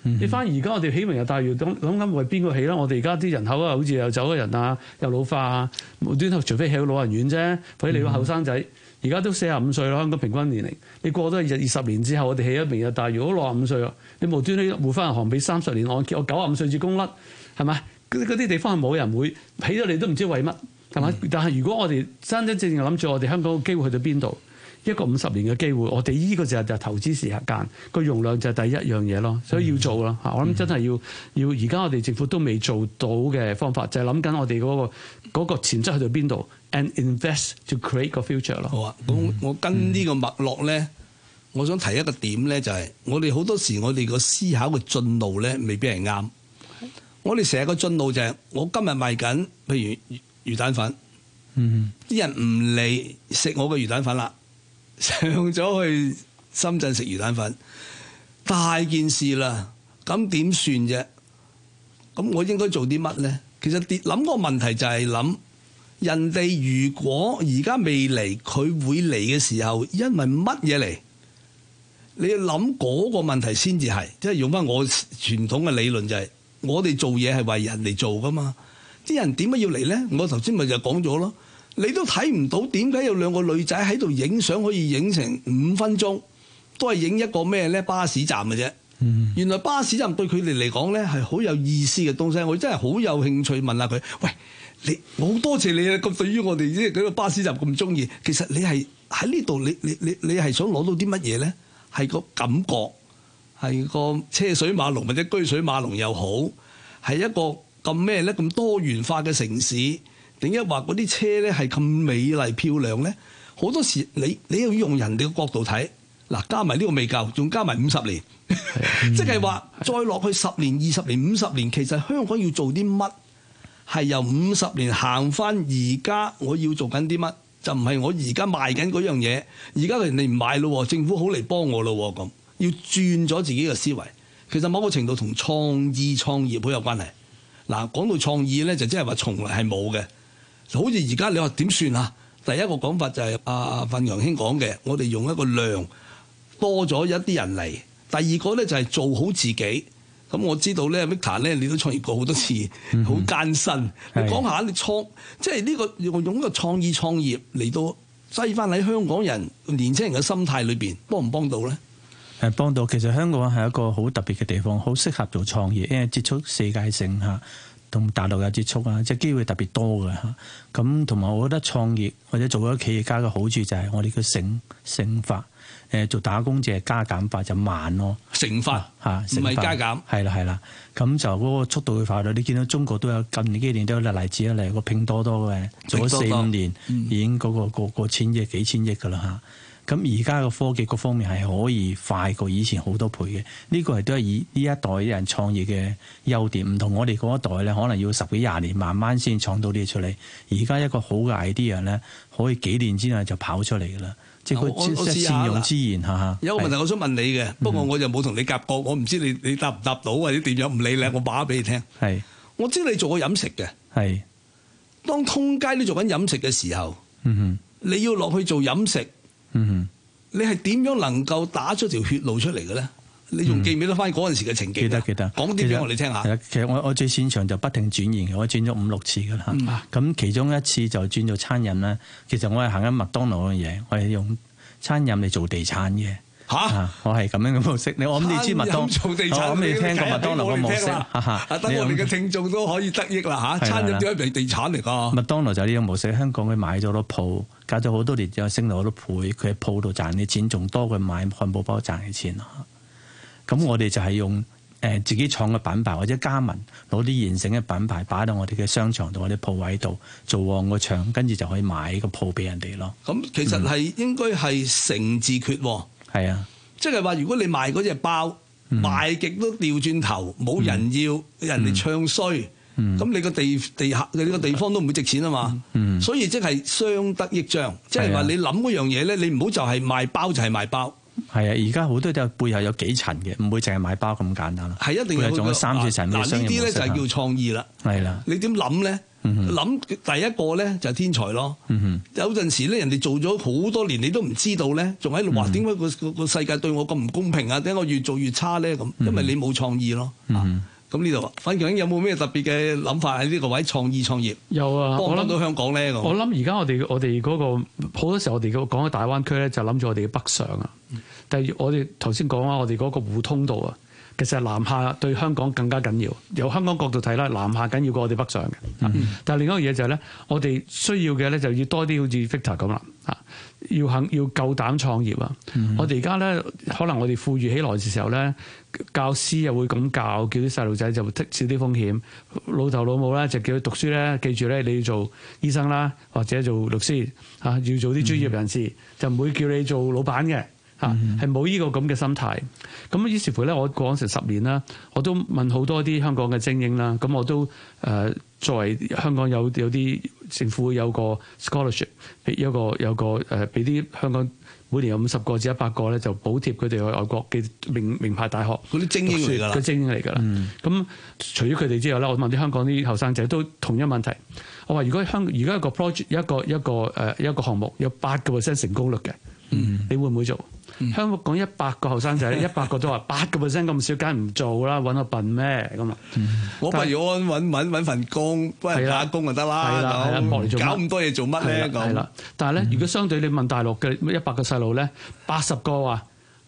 你翻而家我哋起明日大嶼諗緊為邊個起啦？我哋而家啲人口啊，好似又走咗人啊，又老化啊，無端端除非起到老人院啫，或者你個後生仔。而家都45歲啦，香港平均年齡。你過咗20年之後，我哋起咗明日大嶼，如果65歲啦，你無端端匯翻銀行俾30年按揭，我95歲至供甩，係咪？嗰啲地方係冇人會起咗，你都唔知為乜，係咪？但係如果我哋真真正正諗住我哋香港嘅機會去到邊度，一個50年嘅機會，我哋呢個就係投資時間，個容量就係第一樣嘢咯，所以要做啦嚇。我諗真係要而家我哋政府都未做到嘅方法，就係諗緊我哋嗰個潛質去到邊度 ，and invest to create 個 future 咯。 好啊，咁我跟呢個脈絡咧，我想提一個點咧，就係我哋好多時我哋個思考嘅進路咧，未必係啱。我哋成日個進路就係我今日賣緊，譬如魚蛋粉，啲人唔嚟食我嘅魚蛋粉啦。上咗去深圳食魚蛋粉，大件事啦，咁點算啫？咁我應該做啲乜咧？其實諗個問題就係諗人哋如果而家未嚟，佢會嚟嘅時候，因為乜嘢嚟？你要諗嗰個問題先至係，即係用翻我傳統嘅理論就係，我哋做嘢係為人嚟做噶嘛。啲人點解要嚟咧？我頭先咪就講咗咯。你都睇唔到點解有兩個女仔喺度影相可以影成5分鐘，都係影一個咩咧？巴士站嘅啫。原來巴士站對佢哋嚟講咧係好有意思嘅東西，我真係好有興趣問下佢。喂，我好多謝你啊！咁對於我哋即係嗰個巴士站咁中意，其實你係喺呢度，你係想攞到啲乜嘢咧？係個感覺，係個車水馬龍或者車水馬龍又好，係一個咁咩咧？咁多元化嘅城市。點解話嗰啲車咧係咁美麗漂亮咧？好多時你要用人哋嘅角度睇，嗱，加埋呢個未夠，仲加埋50年，即係話再落去10年、20年、50年，其實香港要做啲乜？係由50年行翻而家，我要做緊啲乜？就唔係我而家賣緊嗰樣嘢，而家人哋唔買咯，政府好嚟幫我咯，咁要轉咗自己嘅思維。其實某個程度同創意創業好有關係。嗱，講到創意咧，就即係話從來係冇嘅。好似而家你話點算啊？第一個講法就係阿訓陽兄講嘅，我哋用一個量多咗一啲人嚟。第二個咧就係做好自己。咁我知道咧 Victor 咧，你都創業過好多次，好艱辛。你講下你即係呢個用一個創意創業嚟到擠翻喺香港人年輕人嘅心態裏邊，幫唔幫到咧？ 幫到。其實香港係一個好特別嘅地方，好適合做創業，因為接觸世界性嚇。同大陸有接觸啊，即係機會特別多嘅嚇。咁同埋我覺得創業或者做咗企業家嘅好處就係我哋嘅乘法。做打工者加減法就慢咯， 乘法嚇，唔係加減。係啦，咁就嗰個速度會快到。你見到中國都有近幾年都有例子啊，例如個拼多多嘅做咗4-5年已經嗰個千億幾千億㗎啦嚇。咁而家個科技各方面係可以快過以前好多倍嘅，呢個係都係以呢一代啲人創業嘅優點，唔同我哋嗰一代咧，可能要10幾20年慢慢先創到啲嘢出嚟。而家一個好嘅 idea 咧，可以幾年之內就跑出嚟㗎啦，即係佢善用資源嚇。 有個問題我想問你嘅，不過我就冇同你夾過，我唔知你答唔答到或者點樣，唔理你，我話俾你聽。 係， 我知你做過飲食嘅。係，當通街都做緊飲食嘅時候，你要落去做飲食。你係點樣能夠打出條血路出嚟嘅咧？你仲記唔記得翻嗰陣時嘅情景？記得。講啲俾我哋聽下。 其實我最擅長就不停轉型嘅，我轉咗5-6次㗎啦。咁其中一次就轉做餐飲啦。其實我係行緊麥當勞嘅嘢，我係用餐飲嚟做地產嘅。嚇！我係咁樣嘅模式。我諗你知麥當， 做地產， 我諗你聽過麥當勞嘅模式。 等我哋嘅聽眾都可以得益啦嚇。餐飲點解係地產嚟㗎？ 麥當勞就係呢種模式。香港佢買咗好多鋪，搞咗好多年之後升到好多倍。佢喺鋪度賺嘅錢仲多過買漢堡包賺嘅錢咯。咁我哋就係用自己創嘅品牌或者加盟，攞啲現成嘅品牌擺到我哋嘅商場度、我哋鋪位度做旺個場，跟住就可以買個鋪俾人哋咯。 咁其實係應該係成字決喎。係啊，即係話如果你賣嗰隻包賣極都掉轉頭，冇人要，人哋唱衰，咁你個你個地方都唔會值錢啊嘛。所以即係相得益彰，即係話你諗嗰樣嘢咧，你唔好就係賣包就係賣包。 係啊，而家好多都背後有幾層嘅，唔會淨係買包咁簡單啦。 係一定有仲有3-4層嘅商業模式。 嗱呢啲咧就係叫創意啦。係啦，你點諗咧？ 諗第一個咧就係天才咯。有陣時咧，人哋做咗好多年，你都唔知道咧，仲喺度話點解個世界對我咁唔公平啊？點解我越做越差咧？咁因為你冇創意咯。咁呢度，范強有冇咩特別嘅諗法喺呢個位創業？ 有啊， 幫唔幫到香港咧？ 我諗而家我哋嗰個好多時候我哋講嘅大灣區咧，就諗住我哋嘅北上啊。但係我哋頭先講啊，我哋嗰個互通道啊。其實南下對香港更加緊要，由香港角度睇啦，南下緊要過我哋北上嘅。但係另一個嘢就係咧，我哋需要嘅咧就要多啲好似 Victor 咁啦，要夠膽創業啊！我哋而家咧，可能我哋富裕起來嘅時候咧，教師又會咁教，叫啲細路仔就剔少啲風險。老豆老母咧就叫佢讀書咧，記住咧你要做醫生啦，或者做律師要做啲專業人士，就唔會叫你做老闆嘅。係冇呢個咁嘅心態，咁於是乎咧，我講成10年啦，我都問好多啲香港嘅精英啦，咁我都作為香港有啲政府有個 scholarship， 有個俾啲香港每年有50個至100個咧，就補貼佢哋去外國嘅名牌大學嗰啲精英嚟㗎啦， 個精英嚟㗎啦。咁除咗佢哋之外咧，我問啲香港啲後生仔都同樣問題。我話如果而家一個 project 一個項目有8% 成功率嘅，你會唔會做？香港講100個後生仔，100個都話8% 咁少，梗係唔做啦，揾我笨咩咁啊？ 我不如我揾份工，幫人打工就得啦。 係啦，搏嚟做乜？ 搞咁多嘢做乜咧？ 係啦，但係咧，如果相對你問大陸嘅100個細路咧，80個話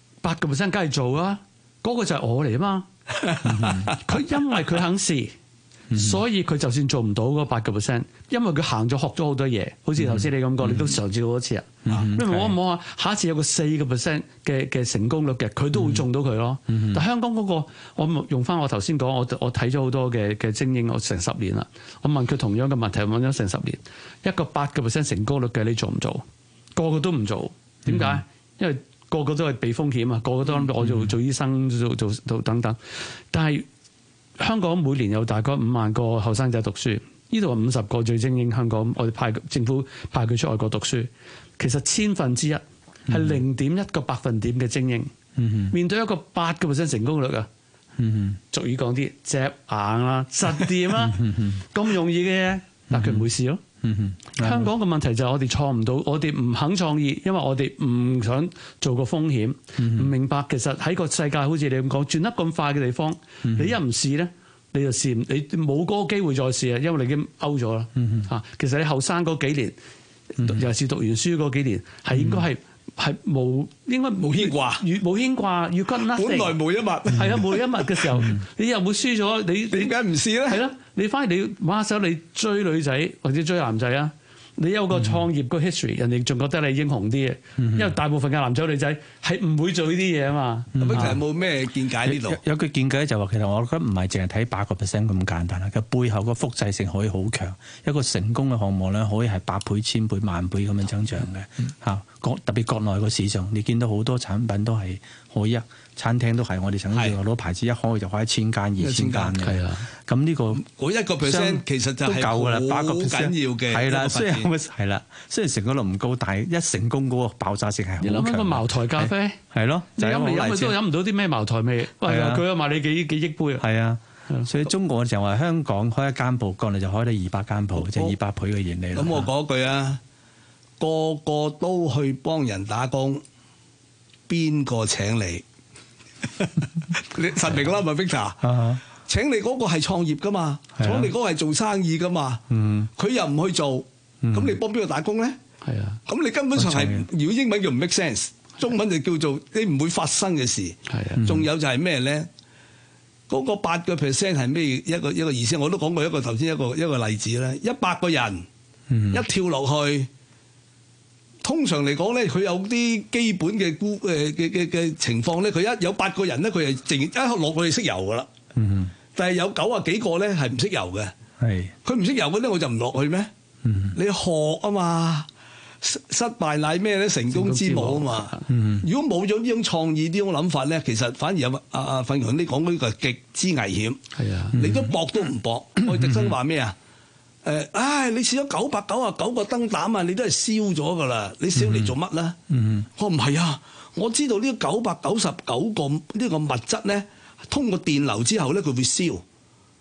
8%梗係做啦，嗰個就係我嚟啊嘛。佢因為佢肯試。所以佢就算做唔到嗰8%，因為佢行咗學咗好多嘢，好似頭先你咁講，你都嘗試好多次啊。因為我唔好話下一次有個4% 嘅成功率嘅，佢都會中到佢咯。但香港嗰個，我用翻我頭先講，我睇咗好多嘅精英，我成10年啦。我問佢同樣嘅問題，問咗成10年，一個8% 成功率嘅，你做唔做？個個都唔做，點解？因為個個都係避風險啊，個個都諗我做醫生做等等，但係。香港每年有大概5萬個後生仔讀書，呢度係50個最精英。香港我哋政府派佢出外國讀書，其實1/1000係0.1個百分點嘅精英，面對一個8% 成功率啊，俗語講啲隻硬啦、實掂啦，咁容易嘅嘢，但佢唔會試咯。香港嘅問題就係我哋創唔到，我哋唔肯創意，因為我哋唔想做個風險，唔明白其實喺個世界好似你咁講轉得咁快嘅地方，你一唔試咧，你就試你冇嗰個機會再試啊，因為你已經 out 咗啦。其實你後生嗰幾年，尤其是讀完書嗰幾年，係應該係應該冇牽掛，冇牽掛，要跟 nothing。 本來無一物， 係啊，無一物嘅時候，你又會輸咗，你點解唔試咧？ 係咯，你反而你玩下手，你追女仔或者追男仔啊，你有個創業個 history，人哋仲覺得你英雄啲嘅，因為大部分嘅男仔女仔係唔會做呢啲嘢啊嘛。 咁其實有冇咩見解呢度？ 有句見解就話，其實我覺得唔係淨係睇8% 咁簡單啦，佢背後個複製性可以好強，一個成功嘅項目咧，可以係百倍、千倍、萬倍咁樣增長嘅嚇。特別國內個市場，你見到好多產品都係可以餐廳都係我哋曾經攞牌子一開就開1000間、2000間嘅。係啊，咁呢個嗰1%其實就係夠㗎啦，8% 緊要嘅。 係啦，雖然成功率唔高，但係一成功嗰個爆炸性係好強。 你諗下個茅台咖啡係咯，你飲嚟飲去都飲唔到啲咩茅台味。係啊，佢又賣你幾億杯啊。 係啊，所以中國就話香港開一間鋪，國內就開得200間鋪，即係200倍嘅盈利。 咁我講句啊，個個都去幫人打工，邊個請你？你實名啦，咪 Victor？請你嗰個係創業噶嘛？請你嗰個係做生意噶嘛？佢又唔去做，咁你幫邊個打工咧？ 係啊，咁你根本上係，如果英文叫唔 make sense， 中文就叫做你唔會發生嘅事。係啊，仲有就係咩咧？嗰個8% 係咩一個意思？我都講過一個頭先一個例子咧，100個人一跳落去。通常嚟講咧，佢有啲基本嘅情況咧，佢一有8個人咧，佢係淨一落去識游噶啦。但係有90幾個咧係唔識游嘅。佢唔識游嗰啲，我就唔落去咩？你學啊嘛，失敗乃咩咧？成功之母啊嘛。如果冇咗呢種創意、呢種諗法咧，其實反而有范強你講嗰個極之危險。係啊，你都搏都唔搏。愛迪生話咩啊？你試咗999個燈膽啊，你都係燒咗噶啦，你燒嚟做乜咧？我唔係啊，我知道呢999個呢個物質咧，通過電流之後咧，佢會燒。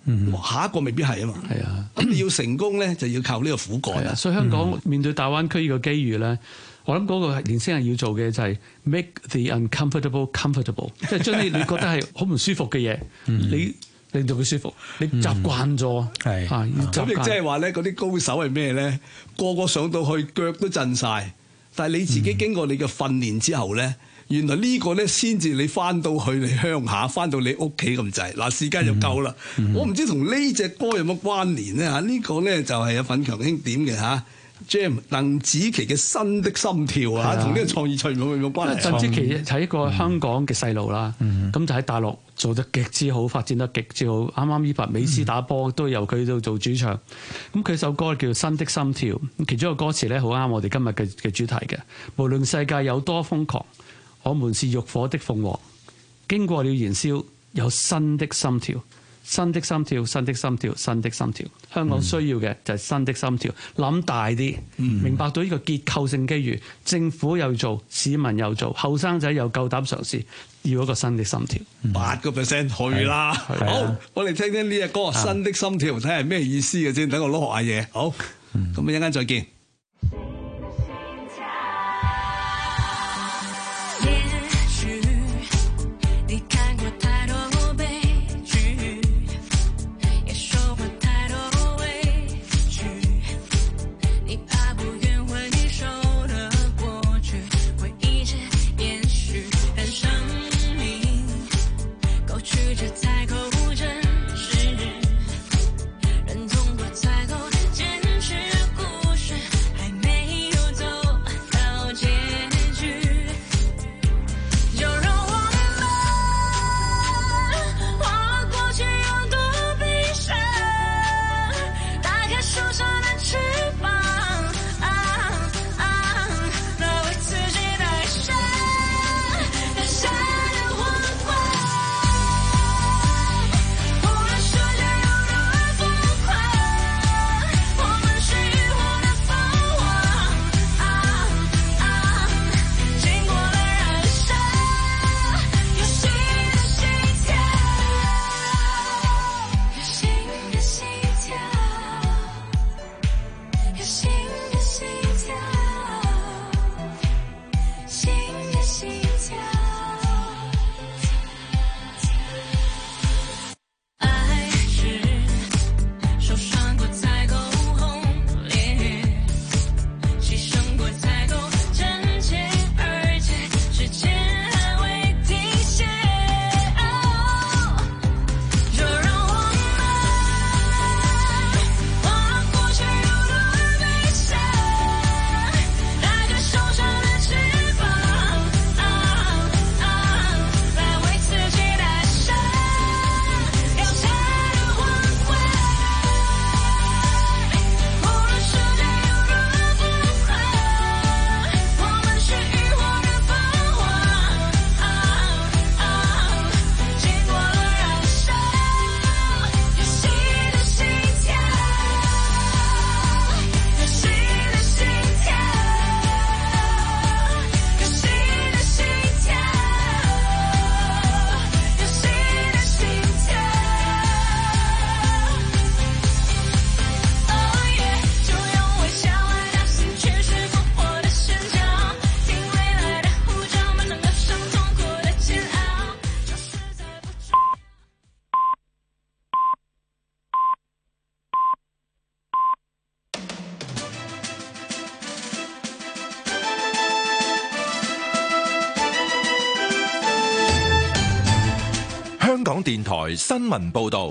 下一個未必係啊嘛。 係啊， 咁你要成功咧，就要靠呢個苦幹啊。 所以香港面對大灣區呢個機遇咧，我諗嗰個年輕人要做嘅就係 make the uncomfortable comfortable， 即係將你覺得係好唔舒服嘅嘢，你令到佢舒服，你習慣咗， 係咁亦即係話咧，嗰啲高手係咩咧？個個上到去腳都震晒，但係你自己經過你嘅訓練之後咧，原來呢個咧先至你翻到去你鄉下，翻到你屋企咁滯。嗱，時間就夠啦。我唔知同呢隻歌有乜關聯咧嚇？呢個咧就係阿奮強兄點嘅嚇。Jam 鄧紫棋嘅《新的心跳》啊，同呢個創意賽有冇關係？ 鄧紫棋係一個香港嘅細路啦，咁就喺大陸做得極之好，發展得極之好。啱啱呢排美斯打波都由佢度做主唱，咁佢首歌叫《新的心跳》，其中一個歌詞咧好啱我哋今日嘅主題嘅。無論世界有多瘋狂，我們是浴火的鳳凰，經過了燃燒，有新的心跳。新的心跳，新的心跳，新的心跳。香港需要嘅就係新的心跳，諗大啲，明白到呢個結構性機遇，政府又做，市民又做，後生仔又夠膽嘗試，要一個新的心跳。 8% 去啦！好，我哋聽聽呢隻歌《新的心跳》，睇下係咩意思嘅先，等我攞學下嘢。好，咁一陣間再見。 香港電台新聞報導，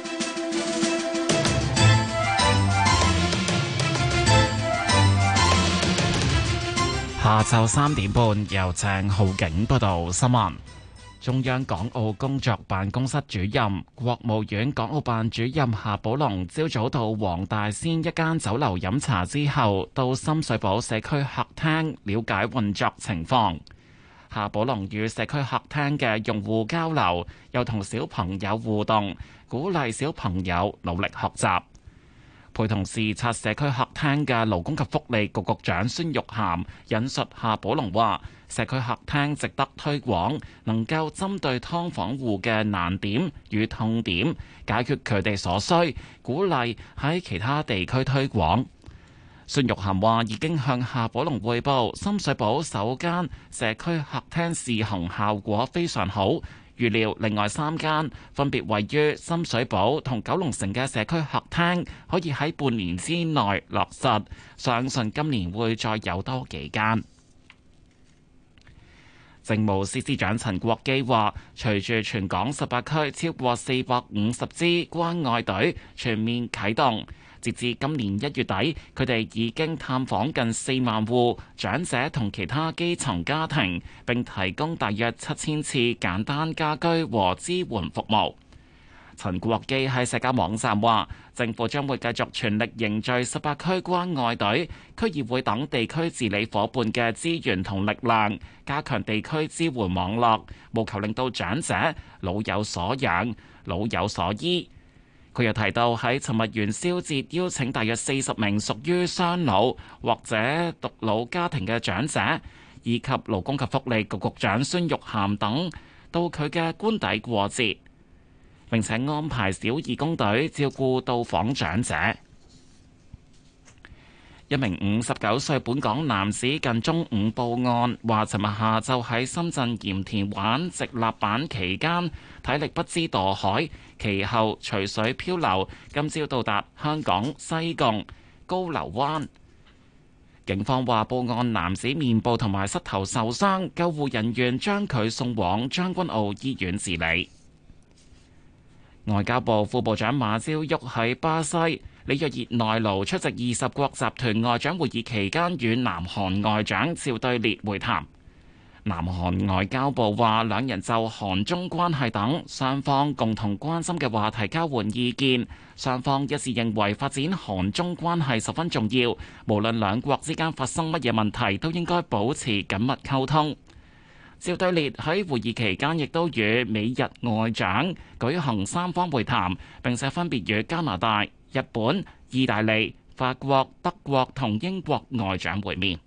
下晝3點半由鄭浩景報道新聞。中央港澳工作辦公室主任、國務院港澳辦主任夏寶龍朝早到黃大仙一間酒樓飲茶之後，到深水埗社區客廳了解運作情況。夏寶龍與社區客廳嘅用戶交流，又同小朋友互動，鼓勵小朋友努力學習。 陪同視察社區客廳嘅勞工及福利局局長孫玉菡引述夏寶龍話：社區客廳值得推廣，能夠針對劏房戶嘅難點與痛點，解決佢哋所需，鼓勵喺其他地區推廣。孫玉菡話已經向夏寶龍匯報，深水埗首間社區客廳試行效果非常好。預料另外3間分別位於深水埗同九龍城嘅社區客廳，可以喺半年之內落實，相信今年會再有多幾間。政務司司長陳國基話，隨住全港18區超過450支關愛隊全面啟動，截至今年1月底，佢哋已經探訪近4萬戶長者同其他基層家庭，並提供大約7000次簡單家居和支援服務。陳國基喺社交網站話，政府將會繼續全力凝聚18區關愛隊、區議會等地區治理夥伴嘅資源同力量，加強地區支援網絡，務求令到長者老有所養、老有所依。佢又提到喺尋日元宵節邀請大約40名屬於雙老或者獨老家庭嘅長者，以及勞工及福利局局長孫玉菡等到佢嘅官邸過節，並且安排小義工隊照顧到訪長者。一名59歲本港男子近中午報案，話尋日下晝喺深圳鹽田玩直立板期間體力不支墮海，其後隨水漂流，今朝到達香港西貢高流灣。警方話報案男子面部同埋膝頭受傷，救護人員將佢送往將軍澳醫院治理。外交部副部長馬朝旭喺巴西里約熱內盧出席20國集團外長會議期間，與南韓外長趙對列會談。南韓外交部話，兩人就韓中關係等雙方共同關心嘅話題交換意見，雙方一致認為發展韓中關係十分重要，無論兩國之間發生乜嘢問題，都應該保持緊密溝通。趙對列喺會議期間亦都與美日外長舉行三方會談，並且分別與加拿大、日本、意大利、法國、德國同英國外長會面。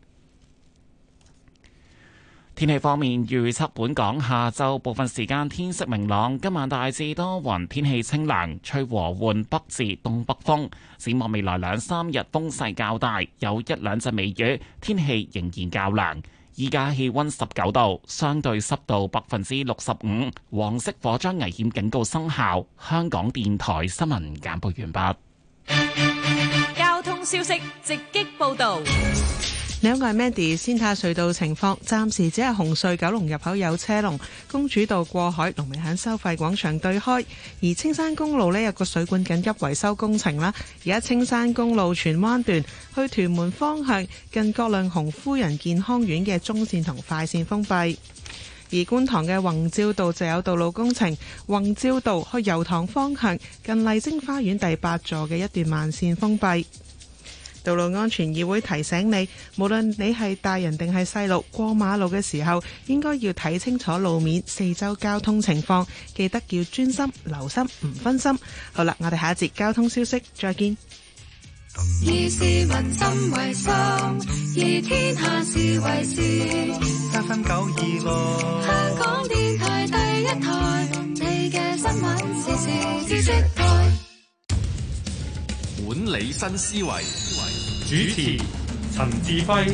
天氣方面，預測本港下晝部分時間天色明朗，今晚大致多雲，天氣清涼，吹和緩北至東北風。展望未來2-3日風勢較大，有1-2陣微雨，天氣仍然較涼。依家氣溫19度，相對濕度65%，黃色火災危險警告生效。香港電台新聞簡報完畢。 交通消息直擊報道。 你好，我係 Mandy。先睇下隧道情況，暫時只係紅隧九龍入口有車龍，公主道過海龍尾喺收費廣場對開。而青山公路呢，有個水管緊急維修工程啦，而家青山公路荃灣段去屯門方向近葛量洪夫人健康院嘅中線同快線封閉。而觀塘嘅宏照道就有道路工程，宏照道去油塘方向近麗晶花園第8座嘅一段慢線封閉。道路安全議會提醒你，無論你係大人定係細路，過馬路嘅時候應該要睇清楚路面、四周交通情況，記得要專心、留心，唔分心。好啦，我哋下一節交通消息再見。 以市民心為心，以天下事為事。7分926，香港電台第一台，你嘅新聞時事知識台。 管理新思維， 主持陳志輝。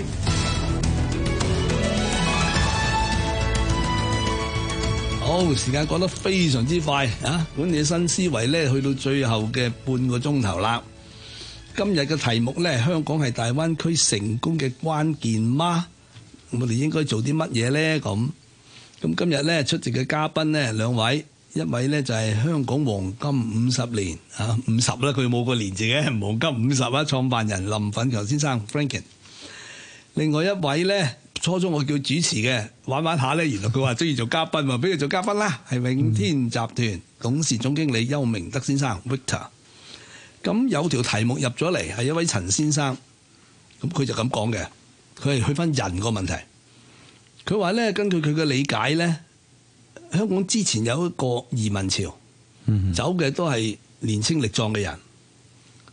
好，時間過得非常之快啊！管理新思維咧，去到最後嘅半個鐘頭啦。今日嘅題目咧，香港係大灣區成功嘅關鍵嗎？我哋應該做啲乜嘢咧？咁今日咧出席嘅嘉賓咧2位。一位呢就係香港黃金50年啊，50啦，佢冇個年字嘅，黃金50啊，創辦人林奮強先生 Franklin。另外一位呢，初初我叫主持嘅，玩玩下呢，原來佢話中意做嘉賓喎，俾佢做嘉賓啦，係永天集團董事總經理邱明德先生 Victor。咁有條題目入咗嚟，係一位陳先生，咁佢就咁講嘅，佢係去翻人個問題。佢話呢，根據佢嘅理解呢，香港之前有一個移民潮，走嘅都係年青力壯嘅人，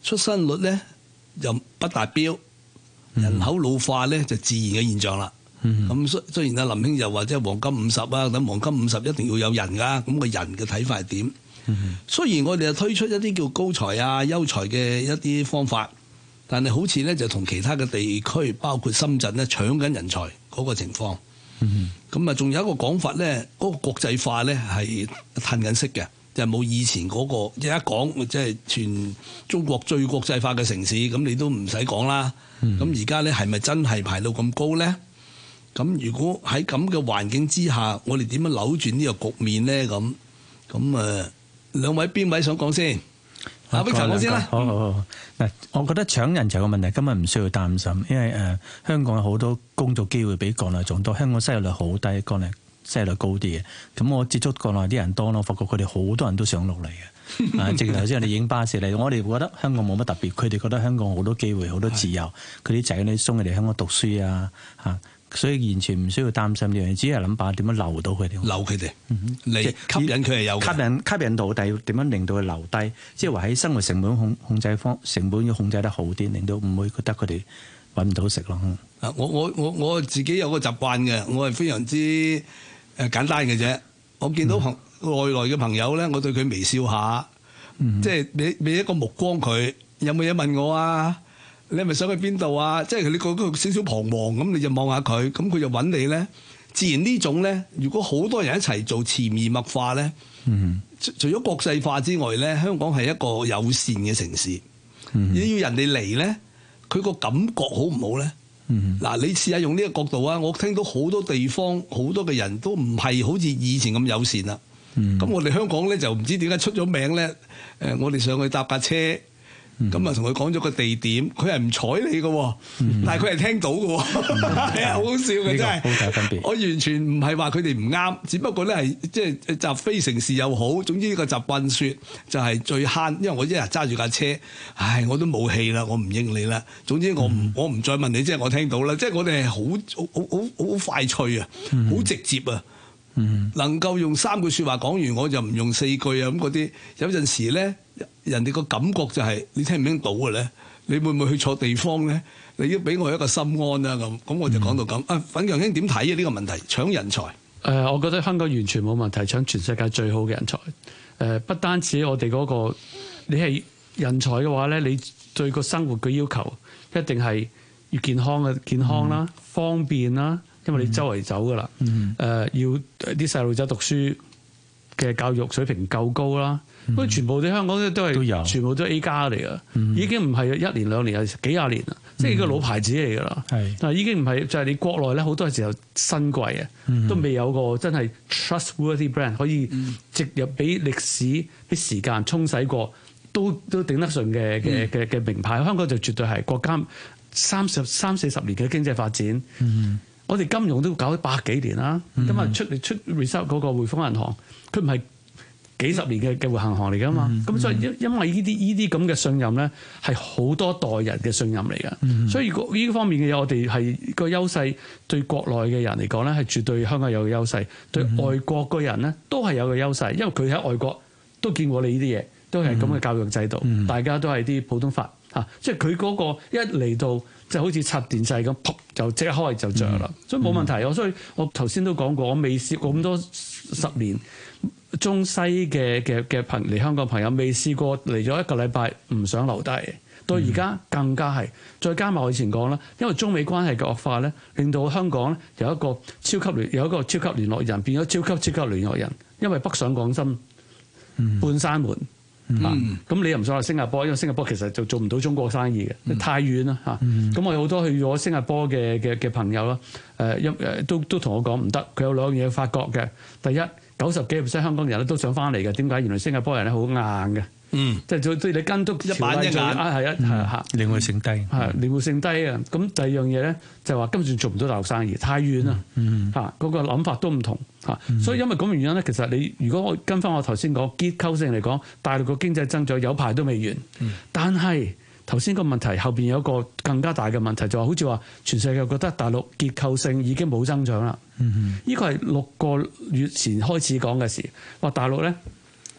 出生率咧又不達標，人口老化咧就自然嘅現象啦。咁雖然阿林兄又話即係黃金50啊，等黃金50一定要有人㗎，咁個人嘅睇法係點？雖然我哋又推出一啲叫高才啊、優才嘅一啲方法，但係好似咧就同其他嘅地區，包括深圳咧搶緊人才嗰個情況。咁啊，仲有一個講法咧，嗰個國際化咧係褪緊色嘅，就係冇以前嗰個一講即係全中國最國際化嘅城市，咁你都唔使講啦。咁而家咧係咪真係排到咁高咧？咁如果喺咁嘅環境之下，我哋點樣扭轉呢個局面咧？咁兩位邊位想講先？阿碧講先啦。好。 嗱，我覺得搶人才嘅問題根本唔需要擔心，因為香港有好多工作機會比國內仲多。香港失業率好低，國內失業率高啲嘅。咁我接觸國內啲人多咯，發覺佢哋好多人都想落嚟嘅。正如頭先我哋影巴士嚟，我哋覺得香港冇乜特別，佢哋覺得香港好多機會、好多自由。佢啲仔女送佢哋香港讀書啊，所以完全唔需要擔心呢樣嘢，只係諗辦法點樣留到佢哋， 留佢哋，嚟吸引佢係有吸引到，但係點樣令到佢留低？即係話喺生活成本控制成本要控制得好啲，令到唔會覺得佢哋揾唔到食咯。 我自己有個習慣嘅，我係非常之簡單嘅啫。我見到外來嘅朋友咧，我對佢微笑下，即係俾一個目光佢，有冇嘢問我啊？你係咪想去邊度啊？即係你覺得少少彷徨咁，你就望下佢，咁佢就揾你咧。自然呢種咧，如果好多人一齊做潛移默化咧，除咗國際化之外咧，香港係一個友善嘅城市。你要人哋嚟咧，佢個感覺好唔好咧？嗱，你試下用呢個角度啊！我聽到好多地方好多嘅人都唔係好似以前咁友善啦。咁我哋香港咧就唔知點解出咗名咧。我哋上去搭架車。咁啊，同佢講咗個地點，佢係唔睬你嘅，但係佢係聽到嘅，係啊，好好笑嘅真係。好大分別。我完全唔係話佢哋唔啱，只不過咧係即係習非成是又好，總之呢個習慣説就係最慳，因為我一日揸住架車，唉，我都冇氣啦，我唔應你啦。總之我唔再問你，即係我聽到啦，即係我哋係好快脆啊，好直接啊。能夠用3句説話講完，我就唔用4句啊咁嗰啲。有陣時咧，人哋個感覺就係你聽唔聽到嘅咧？你會唔會去錯地方咧？你要俾我一個心安啊咁我就講到咁。粉強兄點睇啊呢個問題？搶人才？ 我覺得香港完全冇問題，搶全世界最好嘅人才。不單止我哋嗰個，你係人才嘅話咧，你對個生活嘅要求一定係要健康啦、方便啦。因為你周圍走噶啦，要啲細路仔讀書嘅教育水平夠高啦，咁全部啲香港都係全部都 A 加嚟噶，已經唔係1年2年，係幾廿年啦，即係個老牌子嚟噶啦。但係已經唔係就係你國內咧，好多時候新貴啊，都未有個真係 trustworthy brand 可以植入俾歷史俾時間沖洗過，都頂得順嘅名牌。香港就絕對係國家30-40年嘅經濟發展。我哋金融都搞咗100幾年啦，咁啊出 result 嗰個匯豐銀行，佢唔係幾十年嘅銀行嚟噶嘛，咁所以因為呢啲咁嘅信任咧，係好多代人嘅信任嚟㗎，所以呢方面嘅嘢，我哋係個優勢對國內嘅人嚟講咧，係絕對香港有個優勢，對外國嘅人咧都係有個優勢，因為佢喺外國都見過你呢啲嘢，都係咁嘅教育制度，大家都係啲普通法嚇，即係佢嗰個一嚟到。就好似插電掣咁，噗就即刻開就着啦，所以冇問題。所以我頭先都講過，我未試過咁多10年中西嘅嚟香港朋友，未試過嚟咗1個禮拜唔想留低。到而家更加係，再加埋我以前講啦，因為中美關係嘅惡化咧，令到香港咧有一個超級聯絡人變咗超級聯絡人，因為北上廣深半閂門。咁你又唔想去新加坡，因為新加坡其實就做唔到中國生意嘅，太遠啦嚇。咁我有好多去咗新加坡嘅朋友啦，都同我講唔得，佢有2樣嘢發覺嘅。第一，90幾%香港人咧都想翻嚟嘅，點解？原來新加坡人咧好硬嘅。即係對你跟足一板一眼靈活性低， 靈活性低啊！咁第二樣嘢咧就話根本做唔到大陸生意，太遠啦嗰個諗法都唔同所以因為咁嘅原因咧，其實你如果我跟翻我頭先講結構性嚟講，大陸個經濟增長有排都未完，但係頭先個問題後邊有一個更加大嘅問題，就話好似話全世界覺得大陸結構性已經冇增長啦。呢個係6個月前開始講嘅事，話大陸咧。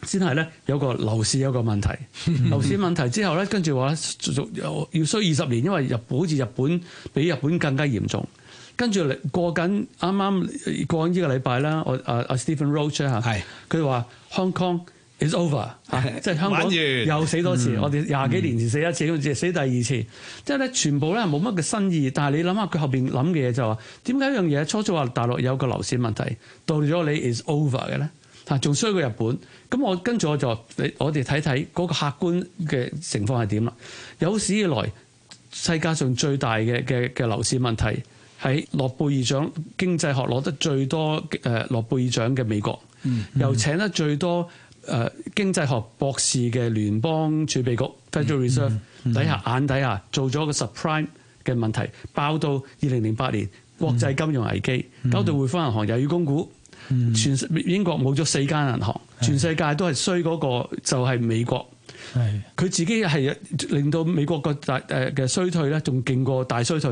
先係咧有個樓市有個問題，樓市問題之後咧，跟住話要需20年，因為好似日本比日本更加嚴重。跟住過緊啱啱過緊呢個禮拜啦，阿 Stephen Roach 嚇，佢話 Hong Kong is over 即係香港又死多次，我哋20幾年前死一次，好似死第二次，即係咧全部咧冇乜嘅新意。但係你諗下佢後邊諗嘅嘢就話，點解一樣嘢初初話大陸有個樓市問題，到咗你 is over 嘅咧？仲衰過日本。咁跟住我哋睇睇嗰個客觀嘅情況係點啦。有史以來世界上最大嘅樓市問題係諾貝爾獎經濟學攞得最多諾貝爾獎嘅美國，又請得最多經濟學博士嘅聯邦儲備局 Federal Reserve 底下做咗個 subprime 嘅問題，爆到2008年國際金融危機，搞到匯豐銀行又要供股。全英國冇咗4間銀行，全世界都係衰嗰個就係美國。佢自己係令到美國個嘅衰退咧，仲勁過大衰退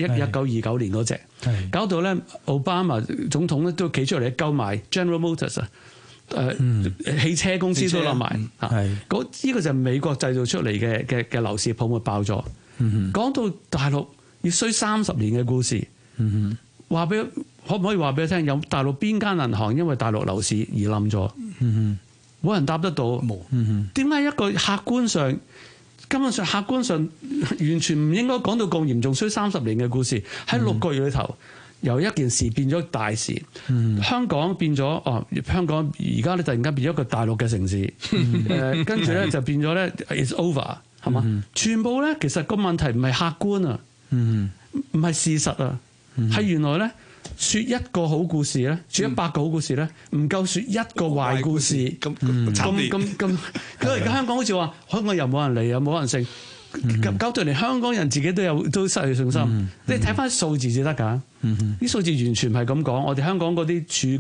1929年嗰隻，搞到咧奧巴馬總統咧都企出嚟救埋 General Motors 汽車公司都冧埋。呢個就係美國製造出嚟嘅樓市泡沫爆咗。講到大陸要衰30年嘅故事，可唔可以話俾你聽？有大陸邊間銀行因為大陸樓市而冧咗？冇人答得到。冇。點解一個根本上客觀上完全唔應該講到咁嚴重，衰30年嘅故事喺6個月裏頭，由一件事變咗大事。香港變咗香港而家咧突然間變咗一個大陸嘅城市。跟住咧就變咗咧 it's over 係嘛？全部咧其實個問題唔係客觀啊，唔係事實啊，係原來咧。説一個好故事咧，説100個好故事咧，唔夠説一個壞故事咁。因為而家香港好似話，香港又冇人嚟，又冇人勝，搞到連香港人自己都失去信心。你睇翻數字至得㗎，啲數字完全唔係咁講。我哋香港嗰啲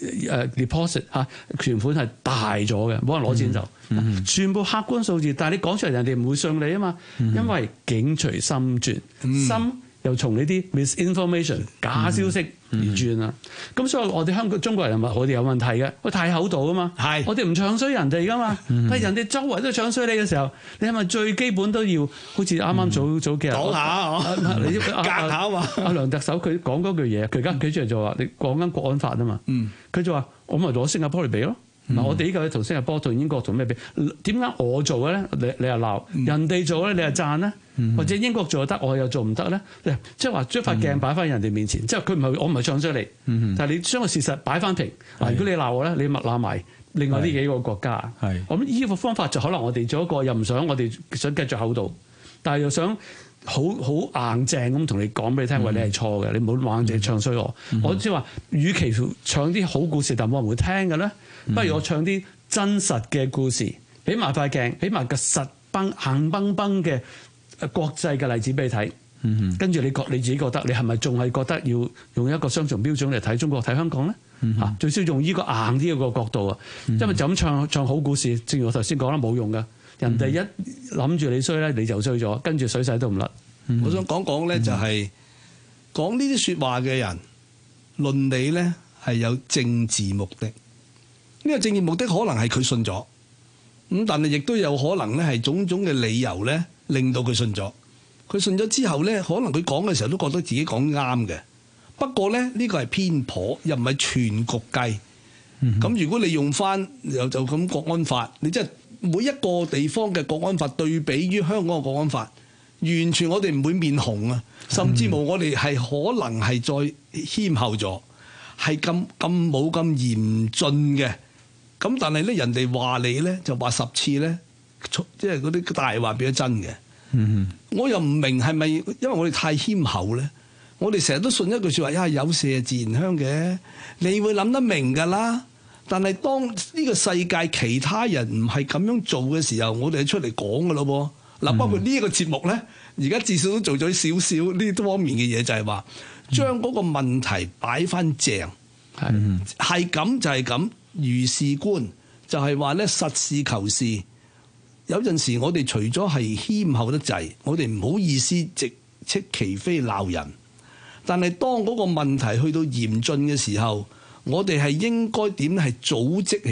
deposit 存款係大咗嘅，冇人攞錢走，全部客觀數字。但係你講出嚟，人哋唔會信你啊嘛，因為境隨心轉，心。又從呢啲 misinformation 假消息而轉啦，咁所以我哋香港中國人我哋有問題嘅，我太厚道啊嘛，我哋唔唱衰人哋噶嘛，但係人哋周圍都唱衰你嘅時候，你係咪最基本都要好似啱啱早幾日講下你隔下嘛？阿梁特首佢講嗰句嘢，佢而家企出嚟就話你講緊國安法啊嘛，佢就話我咪攞新加坡嚟比咯。嗱，我哋呢個同新加坡同英國同咩比？點解我做嘅咧？你又鬧人哋做咧，你又讚咧？或者英國做得，我又做唔得咧？即係話將塊鏡擺翻人哋面前，即係佢唔係我唔係唱衰你，但係你將個事實擺翻平。嗱，如果你鬧我咧，你咪鬧埋另外呢幾個國家。我諗呢個方法就可能我哋做一個又唔想我哋想繼續厚道，但係又想好硬正咁同你講俾你聽，話你係錯嘅，你唔好硬正唱衰我。我即係話，與其唱啲好故事，但冇人會聽嘅咧。不如我唱啲真實嘅故事，俾埋塊鏡，俾埋個硬崩崩嘅國際嘅例子俾你睇。跟住你自己覺得，你係咪仲係覺得要用一個雙重標準嚟睇中國睇香港咧？最少用呢個硬啲嘅角度啊，因為就咁唱好故事，正如我頭先講啦，冇用噶。人哋一諗住你衰咧，你就衰咗，跟住水洗都唔甩。 我想講咧，就係講呢啲説話嘅人論理咧係有政治目的。呢個政治目的可能係佢信咗，咁但係亦都有可能咧係種種嘅理由咧令到佢信咗。佢信咗之後咧，可能佢講嘅時候都覺得自己講啱嘅。不過咧呢個係偏頗，又唔係全局計。咁如果你用翻就咁國安法，你即係每一個地方嘅國安法對比於香港嘅國安法，完全我哋唔會面紅啊，甚至乎我哋係可能係再謙厚咗，係咁冇咁嚴峻嘅。咁但係咧，人哋話你咧就話10次咧，即係嗰啲大話變咗真嘅。我又唔明係咪因為我哋太謙厚咧？我哋成日都信一句説話，有麝自然香嘅，你會諗得明㗎啦。但係當呢個世界其他人唔係咁樣做嘅時候，我哋出嚟講㗎咯喎。嗱，包括呢個節目咧，而家至少都做咗少少呢方面嘅嘢，就係話將嗰個問題擺翻正，係咁就係咁。如是觀就係話咧，實事求是。有陣時我哋除咗係謙厚得滯，我哋唔好意思直斥其非鬧人。但係當嗰個問題去到嚴峻嘅時候，我哋係應該點係組織起來，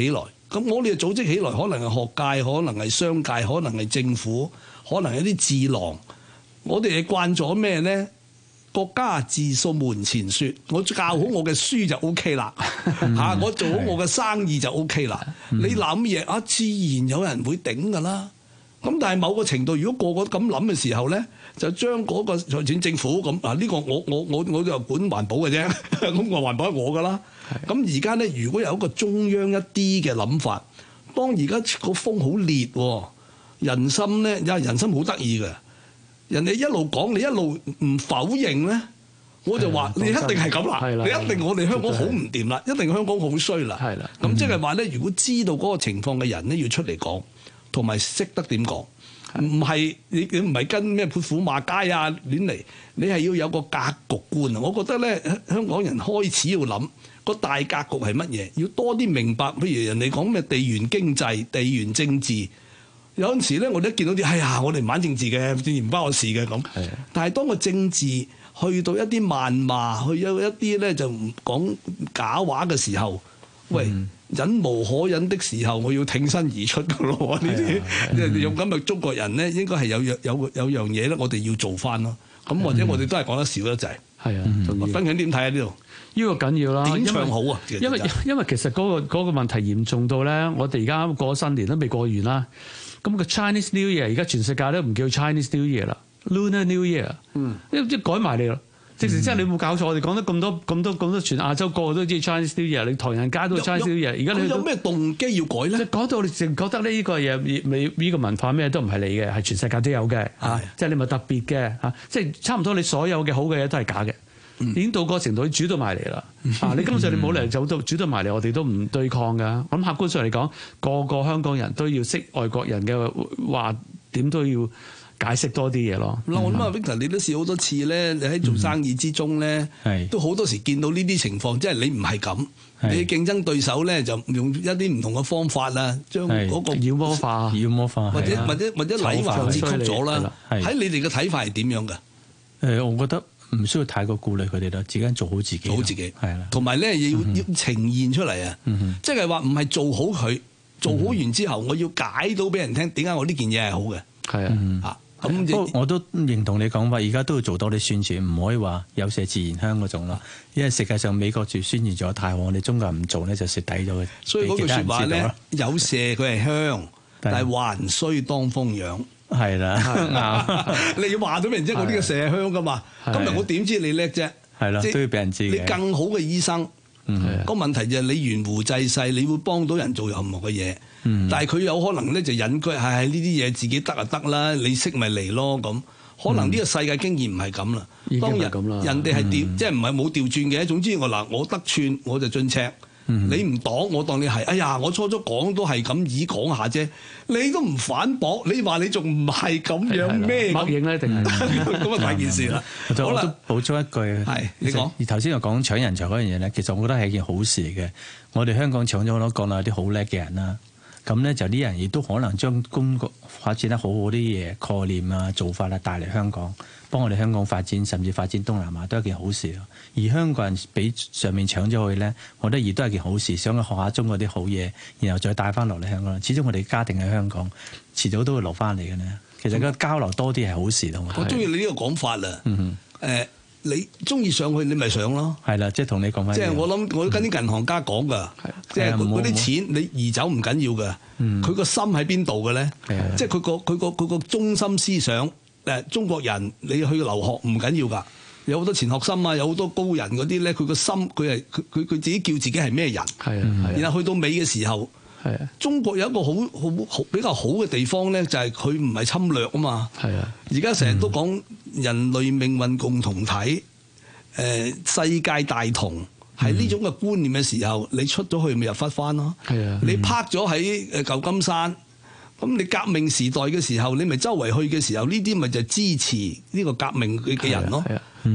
咁我哋組織起來，可能係學界，可能係商界，可能係政府，可能係一啲智囊。我哋係慣咗咩咧？國家自掃門前雪，我教好我嘅書就 O K 啦，嚇我做好我嘅生意就 O K 啦。你諗嘢啊，自然有人會頂㗎啦。咁但係某個程度，如果個個咁諗嘅時候咧，就將嗰個財政政府咁啊，呢個我就管環保嘅啫，咁我環保係我㗎啦。咁而家咧，如果有一個中央一啲嘅諗法，當而家個風好烈，人心咧，人心好得意嘅。人哋一路講，你一路唔否認咧，我就話你一定係咁啦，你一定我哋香港好唔掂啦，一定香港好衰啦。咁即係話咧，如果知道嗰個情況嘅人咧，要出嚟講，同埋識得點講，唔係你唔係跟咩潑婦罵街啊亂嚟，你係要有個格局觀啊！我覺得咧，香港人開始要諗個大格局係乜嘢，要多啲明白。譬如人哋講咩地緣經濟、地緣政治。有陣時咧，我哋一見到啲，哎呀，我哋唔玩政治嘅，政治唔關我事嘅咁。但係當個政治去到一啲謾罵，去有一啲咧就唔講假話嘅時候，喂，忍無可忍的時候，我要挺身而出㗎咯。呢啲用咁嘅中國人咧，應該係有樣嘢咧，我哋要做翻咯。咁或者我哋都係講得少得滯。係啊，分享點睇啊？呢度呢個緊要啦， 點唱好啊？ 因為其實嗰個問題嚴重到咧，我哋而家過咗新年都未過完啦。咁個 Chinese New Year 而家全世界都唔叫 Chinese New Year 啦 ，Lunar New Year，即係改埋你啦。直情即係你冇搞錯，我哋講得咁多，全亞洲個個都知 Chinese New Year， 你唐人街都係 Chinese New Year。而家你有咩動機要改咧？ 講到你淨覺得呢個嘢，呢個文化咩都唔係你嘅，係全世界都有嘅嚇，即係你咪特別嘅嚇，即係差唔多你所有嘅好嘅嘢都係假嘅。已經到個程度，你煮到埋嚟啦！你根本上你冇嚟煮到埋嚟，我哋都唔對抗噶。咁客觀上嚟講，個個香港人都要識外國人嘅話，點都要解釋多啲嘢咯。 我諗啊 Victor，你都試好多次咧，你喺做生意之中咧，都好多時見到呢啲情況，即係你唔係咁，你嘅競爭對手咧就用一啲唔同嘅方法啦，將嗰個妖魔化， 或者禮環折曲咗啦。喺你哋嘅睇法係點樣㗎？ 我覺得唔需要太過顧慮佢哋啦，自己做好自己， 做好自己係啦。同埋咧要呈現出嚟啊，即係話唔係做好佢，做好完之後，我要解到俾人聽點解我呢件嘢係好嘅。係啊， 咁我都認同你講法，而家都要做多啲宣傳，唔可以話有麝自然香嗰種咯。因為實際上美國住宣傳咗太好，我哋中國人唔做咧就蝕底咗嘅。 所以嗰句説話咧，有麝佢係香，但係還須當風養。 係啦， 你要話到俾人知我呢個麝香噶嘛？今日我點知你叻啫？ 係啦，都要俾人知嘅。 你更好嘅醫生，個問題就係你懸壺濟世，你會幫到人做任何嘅嘢。但係佢有可能咧就隱居，係呢啲嘢自己得就得啦，你識咪嚟咯咁。可能呢個世界經驗唔係咁啦。當人哋係調，即係唔係冇調轉嘅。總之我得寸我就進尺。你唔擋我當你係，哎呀！我初講都係咁以講下啫，你都唔反駁，你話你仲唔係咁樣咩？ 默認咧定係咁啊大件事啦。 好啦，補充一句， 係你講。 而頭先又講搶人才嗰樣嘢咧，其實我覺得係一件好事嘅。我哋香港搶咗好多國內啲好叻嘅人啦，咁咧就啲人亦都可能將中國發展得好好啲嘢概念啊、做法啊帶嚟香港，幫我哋香港發展，甚至發展東南亞都係一件好事咯。而香港人俾上面搶咗去咧，我覺得亦都係件好事，想去學下中國啲好嘢，然後再帶翻落嚟香港。始終我哋家庭喺香港，遲早都會留翻嚟嘅咧。其實個交流多啲係好事咯。 我中意你呢個講法啦。你中意上去你咪上咯。 係啦，即係同你講翻。 即係我諗，我都跟啲銀行家講㗎，即係嗰啲錢你移走唔緊要㗎，佢個心喺邊度嘅咧？即係佢個中心思想。中國人你去留學唔緊要㗎，有好多錢學森啊，有好多高人嗰啲咧，佢個心佢自己叫自己係咩人？係啊，然後去到尾嘅時候，中國有一個好比較好嘅地方咧，就係佢唔係侵略啊嘛。係啊，而家成日都講人類命運共同體，世界大同，係呢種嘅觀念嘅時候，你出咗去咪入翻翻咯。係啊，你泊咗喺舊金山。咁你革命時代嘅時候，你咪周圍去嘅時候，呢啲咪就支持呢個革命嘅人咯。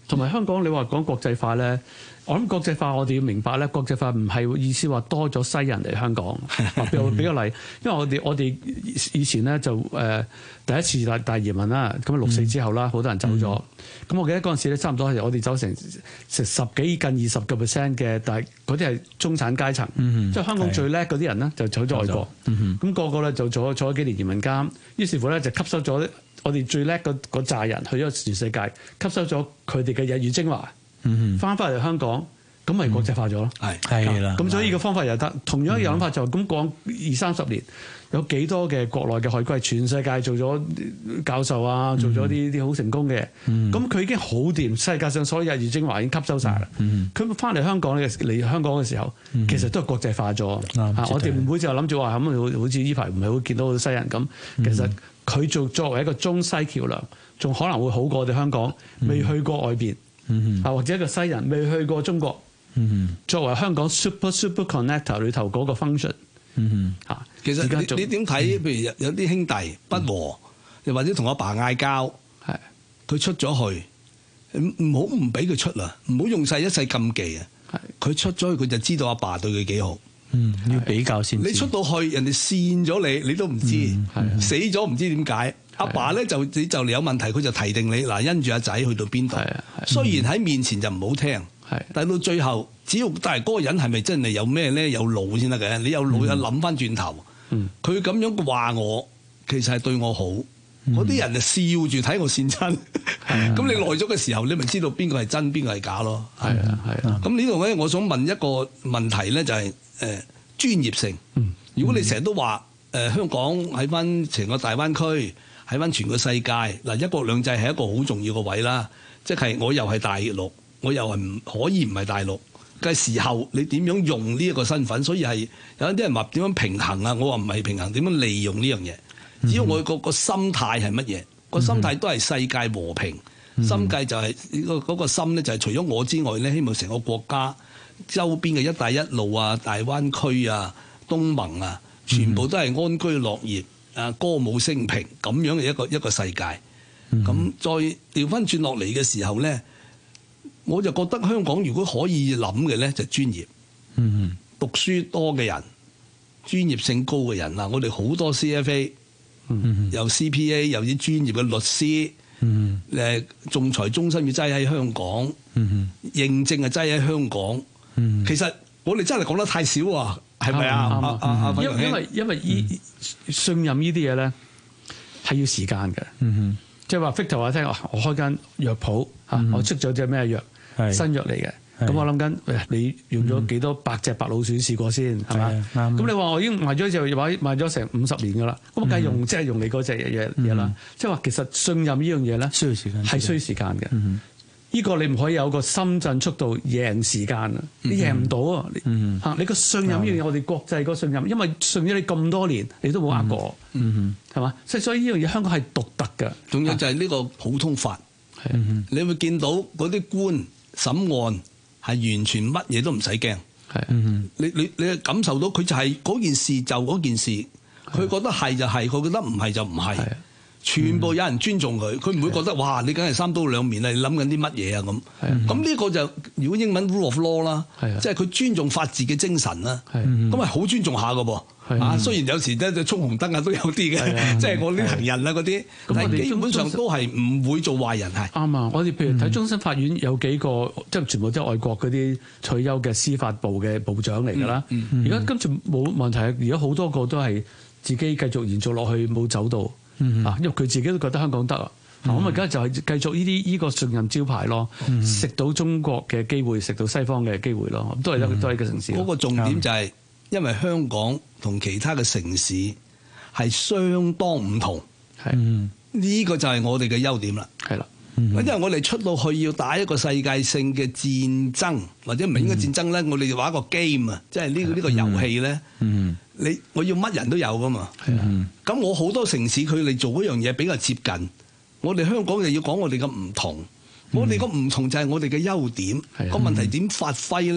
同埋香港你話講國際化咧，我諗國際化我哋要明白咧，國際化唔係意思話多咗西人嚟香港。俾個例，因為我哋以前咧就第一次大移民啦，咁6.4之後啦，好多人走咗。咁我記得嗰陣時咧，差唔多係我哋走成10幾近20% 嘅，但係嗰啲係中產階層，即係香港最叻嗰啲人咧就走咗外國。咁個個咧就坐咗幾年移民監，於是乎咧就吸收咗我哋最叻嗰扎人去咗全世界，吸收咗佢哋嘅日語精華，翻嚟香港，咁咪國際化咗咯。 係啦。 咁所以呢個方法又得，同樣嘅諗法就咁講20-30年，有幾多嘅國內嘅海歸全世界做咗教授啊，做咗啲好成功嘅，咁佢已經好掂，世界上所有日語精華已經吸收晒啦。佢翻嚟香港嚟香港嘅時候，其實都係國際化咗。我哋唔會就諗住話咁，好似呢排唔係會見到好多西人咁，其實佢作為一個中西橋梁，仲可能會好過我哋香港未去過外邊，或者一個西人未去過中國，作為香港 super connector 裏頭嗰個 function。 其實你點睇？譬如有啲兄弟不和，又或者同阿爸嗌交，佢出咗去，唔好唔俾佢出啦，唔好用晒一世禁忌啊！佢出咗去，佢就知道阿爸對佢幾好。 要比較先。 你出到去，人哋扇咗你，你都唔知，死咗唔知點解。阿爸咧就嚟有問題，佢就提定你嗱，因住阿仔去到邊度。雖然喺面前就唔好聽，但係到最後，只要但係嗰個人係咪真係有咩咧？有腦先得嘅。你有腦，有諗翻轉頭，佢咁樣話我，其實係對我好。嗰啲人就笑住睇我扇親，咁你耐咗嘅時候，你咪知道邊個係真，邊個係假咯。係啊。咁呢度咧，我想問一個問題咧，就係專業性。如果你成日都話香港喺翻成個大灣區，喺翻全個世界嗱，一國兩制係一個好重要嘅位啦。即係我又係大陸，我又係唔可以唔係大陸嘅時候，你點樣用呢一個身份？所以係有啲人話點樣平衡啊？我話唔係平衡，點樣利用呢樣嘢？只要我個心態係乜嘢？個心態都係世界和平。心計就係嗰個心咧，就係除咗我之外咧，希望成個國家周邊嘅一帶一路啊、大灣區啊、東盟啊，全部都係安居樂業啊、歌舞升平咁樣嘅一個世界。咁再調翻轉落嚟嘅時候咧，我就覺得香港如果可以諗嘅咧，就專業。讀書多嘅人、專業性高嘅人啊，我哋好多 CFA。有 CPA， 有啲專業嘅律師，仲裁中心要擠喺香港，認證啊擠喺香港。其實我哋真係講得太少啊，係咪啊？ 因為信任呢啲嘢咧係要時間嘅。即係話 Victor 話聽，我開間藥鋪我出咗隻咩藥，新藥嚟嘅。咁我諗緊，你用咗幾多百隻白老鼠試過先係嘛？咁你話我已經賣咗就賣咗成50年㗎啦，咁梗係用即係用你嗰隻嘢啦。即係話其實信任呢樣嘢咧，需要時間，係需要時間嘅。呢個你唔可以有個深圳速度贏時間啊！你贏唔到啊！你個信任呢樣嘢，我哋國際個信任，因為信咗你咁多年，你都冇呃過，係嘛？所以呢樣嘢香港係獨特嘅。 仲有就係呢個普通法，你會見到嗰啲官審案。係完全乜嘢都唔使驚，你感受到佢就係嗰件事就嗰件事，佢覺得係就係，佢覺得唔係就唔係，全部有人尊重佢，佢唔會覺得哇你梗係三刀兩面啊，你諗緊啲乜嘢啊咁。咁呢個就如果英文 rule of law 啦，即係佢尊重法治嘅精神啦，咁係好尊重下㗎噃。雖然有時咧衝紅燈啊都有啲嘅，即係我啲行人啊嗰啲，但係基本上都係唔會做壞人係。啱啊！我哋譬如睇終審法院有幾個，即係全部都係外國嗰啲退休嘅司法部嘅部長嚟㗎啦。而家跟住冇問題，而家好多個都係自己繼續延續落去冇走到啊，因為佢自己都覺得香港得啊。咁而家就係繼續呢個信任招牌咯，食到中國嘅機會，食到西方嘅機會咯，都係一個城市。嗰個重點就係。因為香港同其他嘅城市係相當唔同，呢個就係我哋嘅優點啦。係啦，因為我哋出到去要打一個世界性嘅戰爭，或者唔係應該戰爭咧，我哋玩一個 game 啊，即係呢個遊戲咧。我要乜人都有噶嘛。咁我好多城市佢哋做嗰樣嘢比較接近，我哋香港就要講我哋嘅唔同。我哋個唔同就係我哋嘅優點。個問題點發揮咧？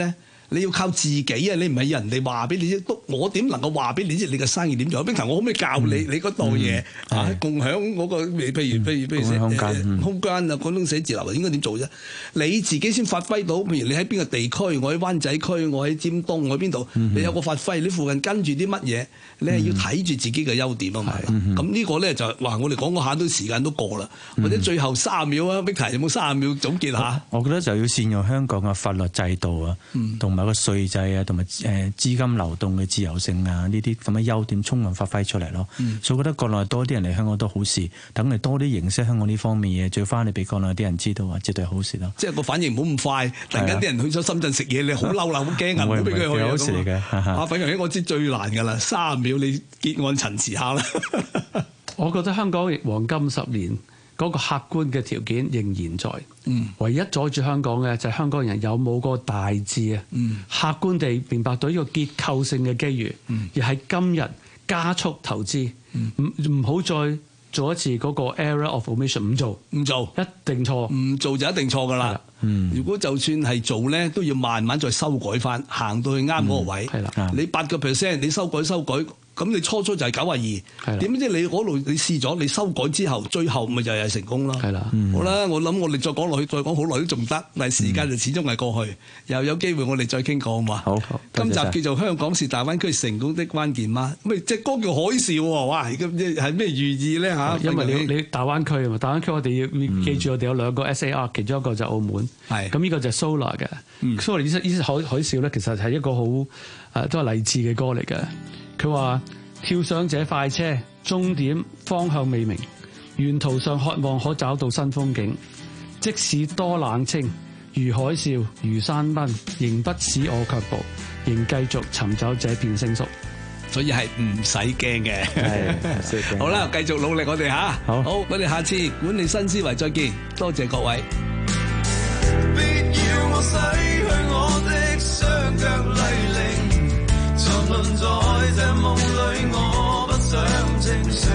你要靠自己啊！你唔係人哋話俾你知，我點能夠話俾你知你嘅生意點做？冰球我可唔可以教你嗰度嘢共享嗰個譬如空間啊，廣東寫字樓應該點做啫？你自己先發揮到，譬如你喺邊個地區，我喺灣仔區，我喺尖東，我喺邊度，你有個發揮，你附近跟住啲乜嘢，你係要睇住自己嘅優點啊嘛。咁呢個咧就話我哋講嗰下都時間都過啦，或者最後30秒啊，冰球有冇30秒總結下？ 我覺得就要善用香港嘅法律制度啊，同埋個稅制啊，同埋資金流動嘅自由性啊，呢啲咁嘅優點充分發揮出嚟咯。所以我覺得國內多啲人嚟香港都好事，等你多啲認識香港呢方面嘢，最翻嚟俾國內啲人知道啊，絕對好事咯。 即係個反應唔好咁快，突然間啲人去咗深圳食嘢，你好嬲啦，好驚啊，唔好俾佢去啊。好事嚟嘅。粉強我知最難㗎啦，30秒你結案陳詞下啦。 我覺得香港黃金10年嗰個客觀嘅條件仍然在，唯一阻住香港嘅就係香港人有冇個大志啊，客觀地明白到呢個結構性嘅機遇，而喺今日加速投資，唔好再做一次嗰個 error of omission， 唔做一定錯， 唔做就一定錯㗎啦。如果就算係做咧，都要慢慢再修改翻，行到去啱嗰個位。你8%，你修改。咁你初就係92，點知你嗰度你試咗，你修改之後，最後咪就係成功咯。好啦，我諗我哋再講落去，再講好耐都仲得，但係時間就始終係過去，又有機會我哋再傾過好嘛？好，今集叫做香港是大灣區成功的關鍵嗎？咁隻歌叫海嘯喎，哇！咁係咩寓意咧嚇？ 因為你大灣區啊嘛，大灣區我哋要記住，我哋有2個 SAR，其中一個就澳門，咁呢個就係 Solar 嘅。Solar 呢海嘯咧，其實係一個好都係勵志嘅歌嚟嘅。佢話跳上這快車，終點方向未明，沿途上渴望可找到新風景。即使多冷清，如海嘯，如山崩，仍不使我卻步，仍繼續尋找這片星宿。 所以係唔使驚嘅。好啦，繼續努力我哋嚇。好，我哋下次管理新思維再見。多謝各位。別要我洗去我的雙腳泥濘，沉淪在這夢裏，我不想清醒。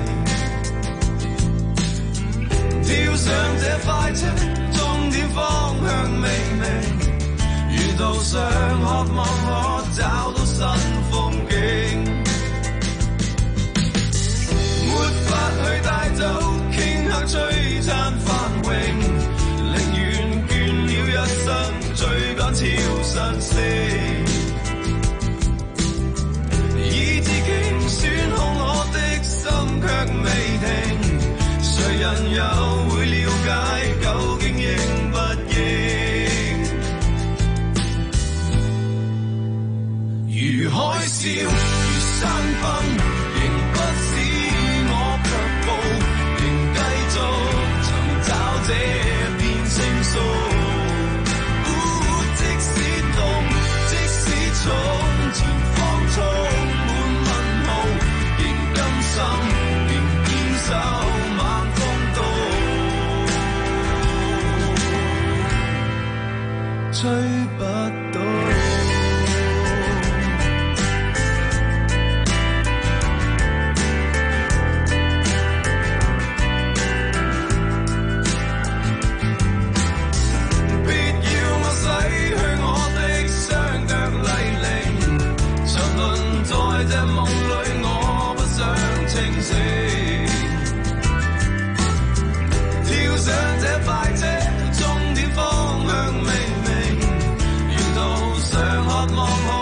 跳上這快車，終點方向未明，沿途上渴望可找到新風景。沒法去帶走頃刻璀璨繁榮，寧願倦了一生追趕超新星。選好我的心卻未停，誰人又會了解究竟應不應？如海嘯，如山崩，仍不使我卻步，仍繼續尋找這片星宿。即使凍，即使重，前方衝。仍堅守猛風刀，追不到。別要我洗去我的雙腳泥濘，沉淪在這夢裏，我不想清醒。跳上這快車，終點方向未明，沿途上渴望。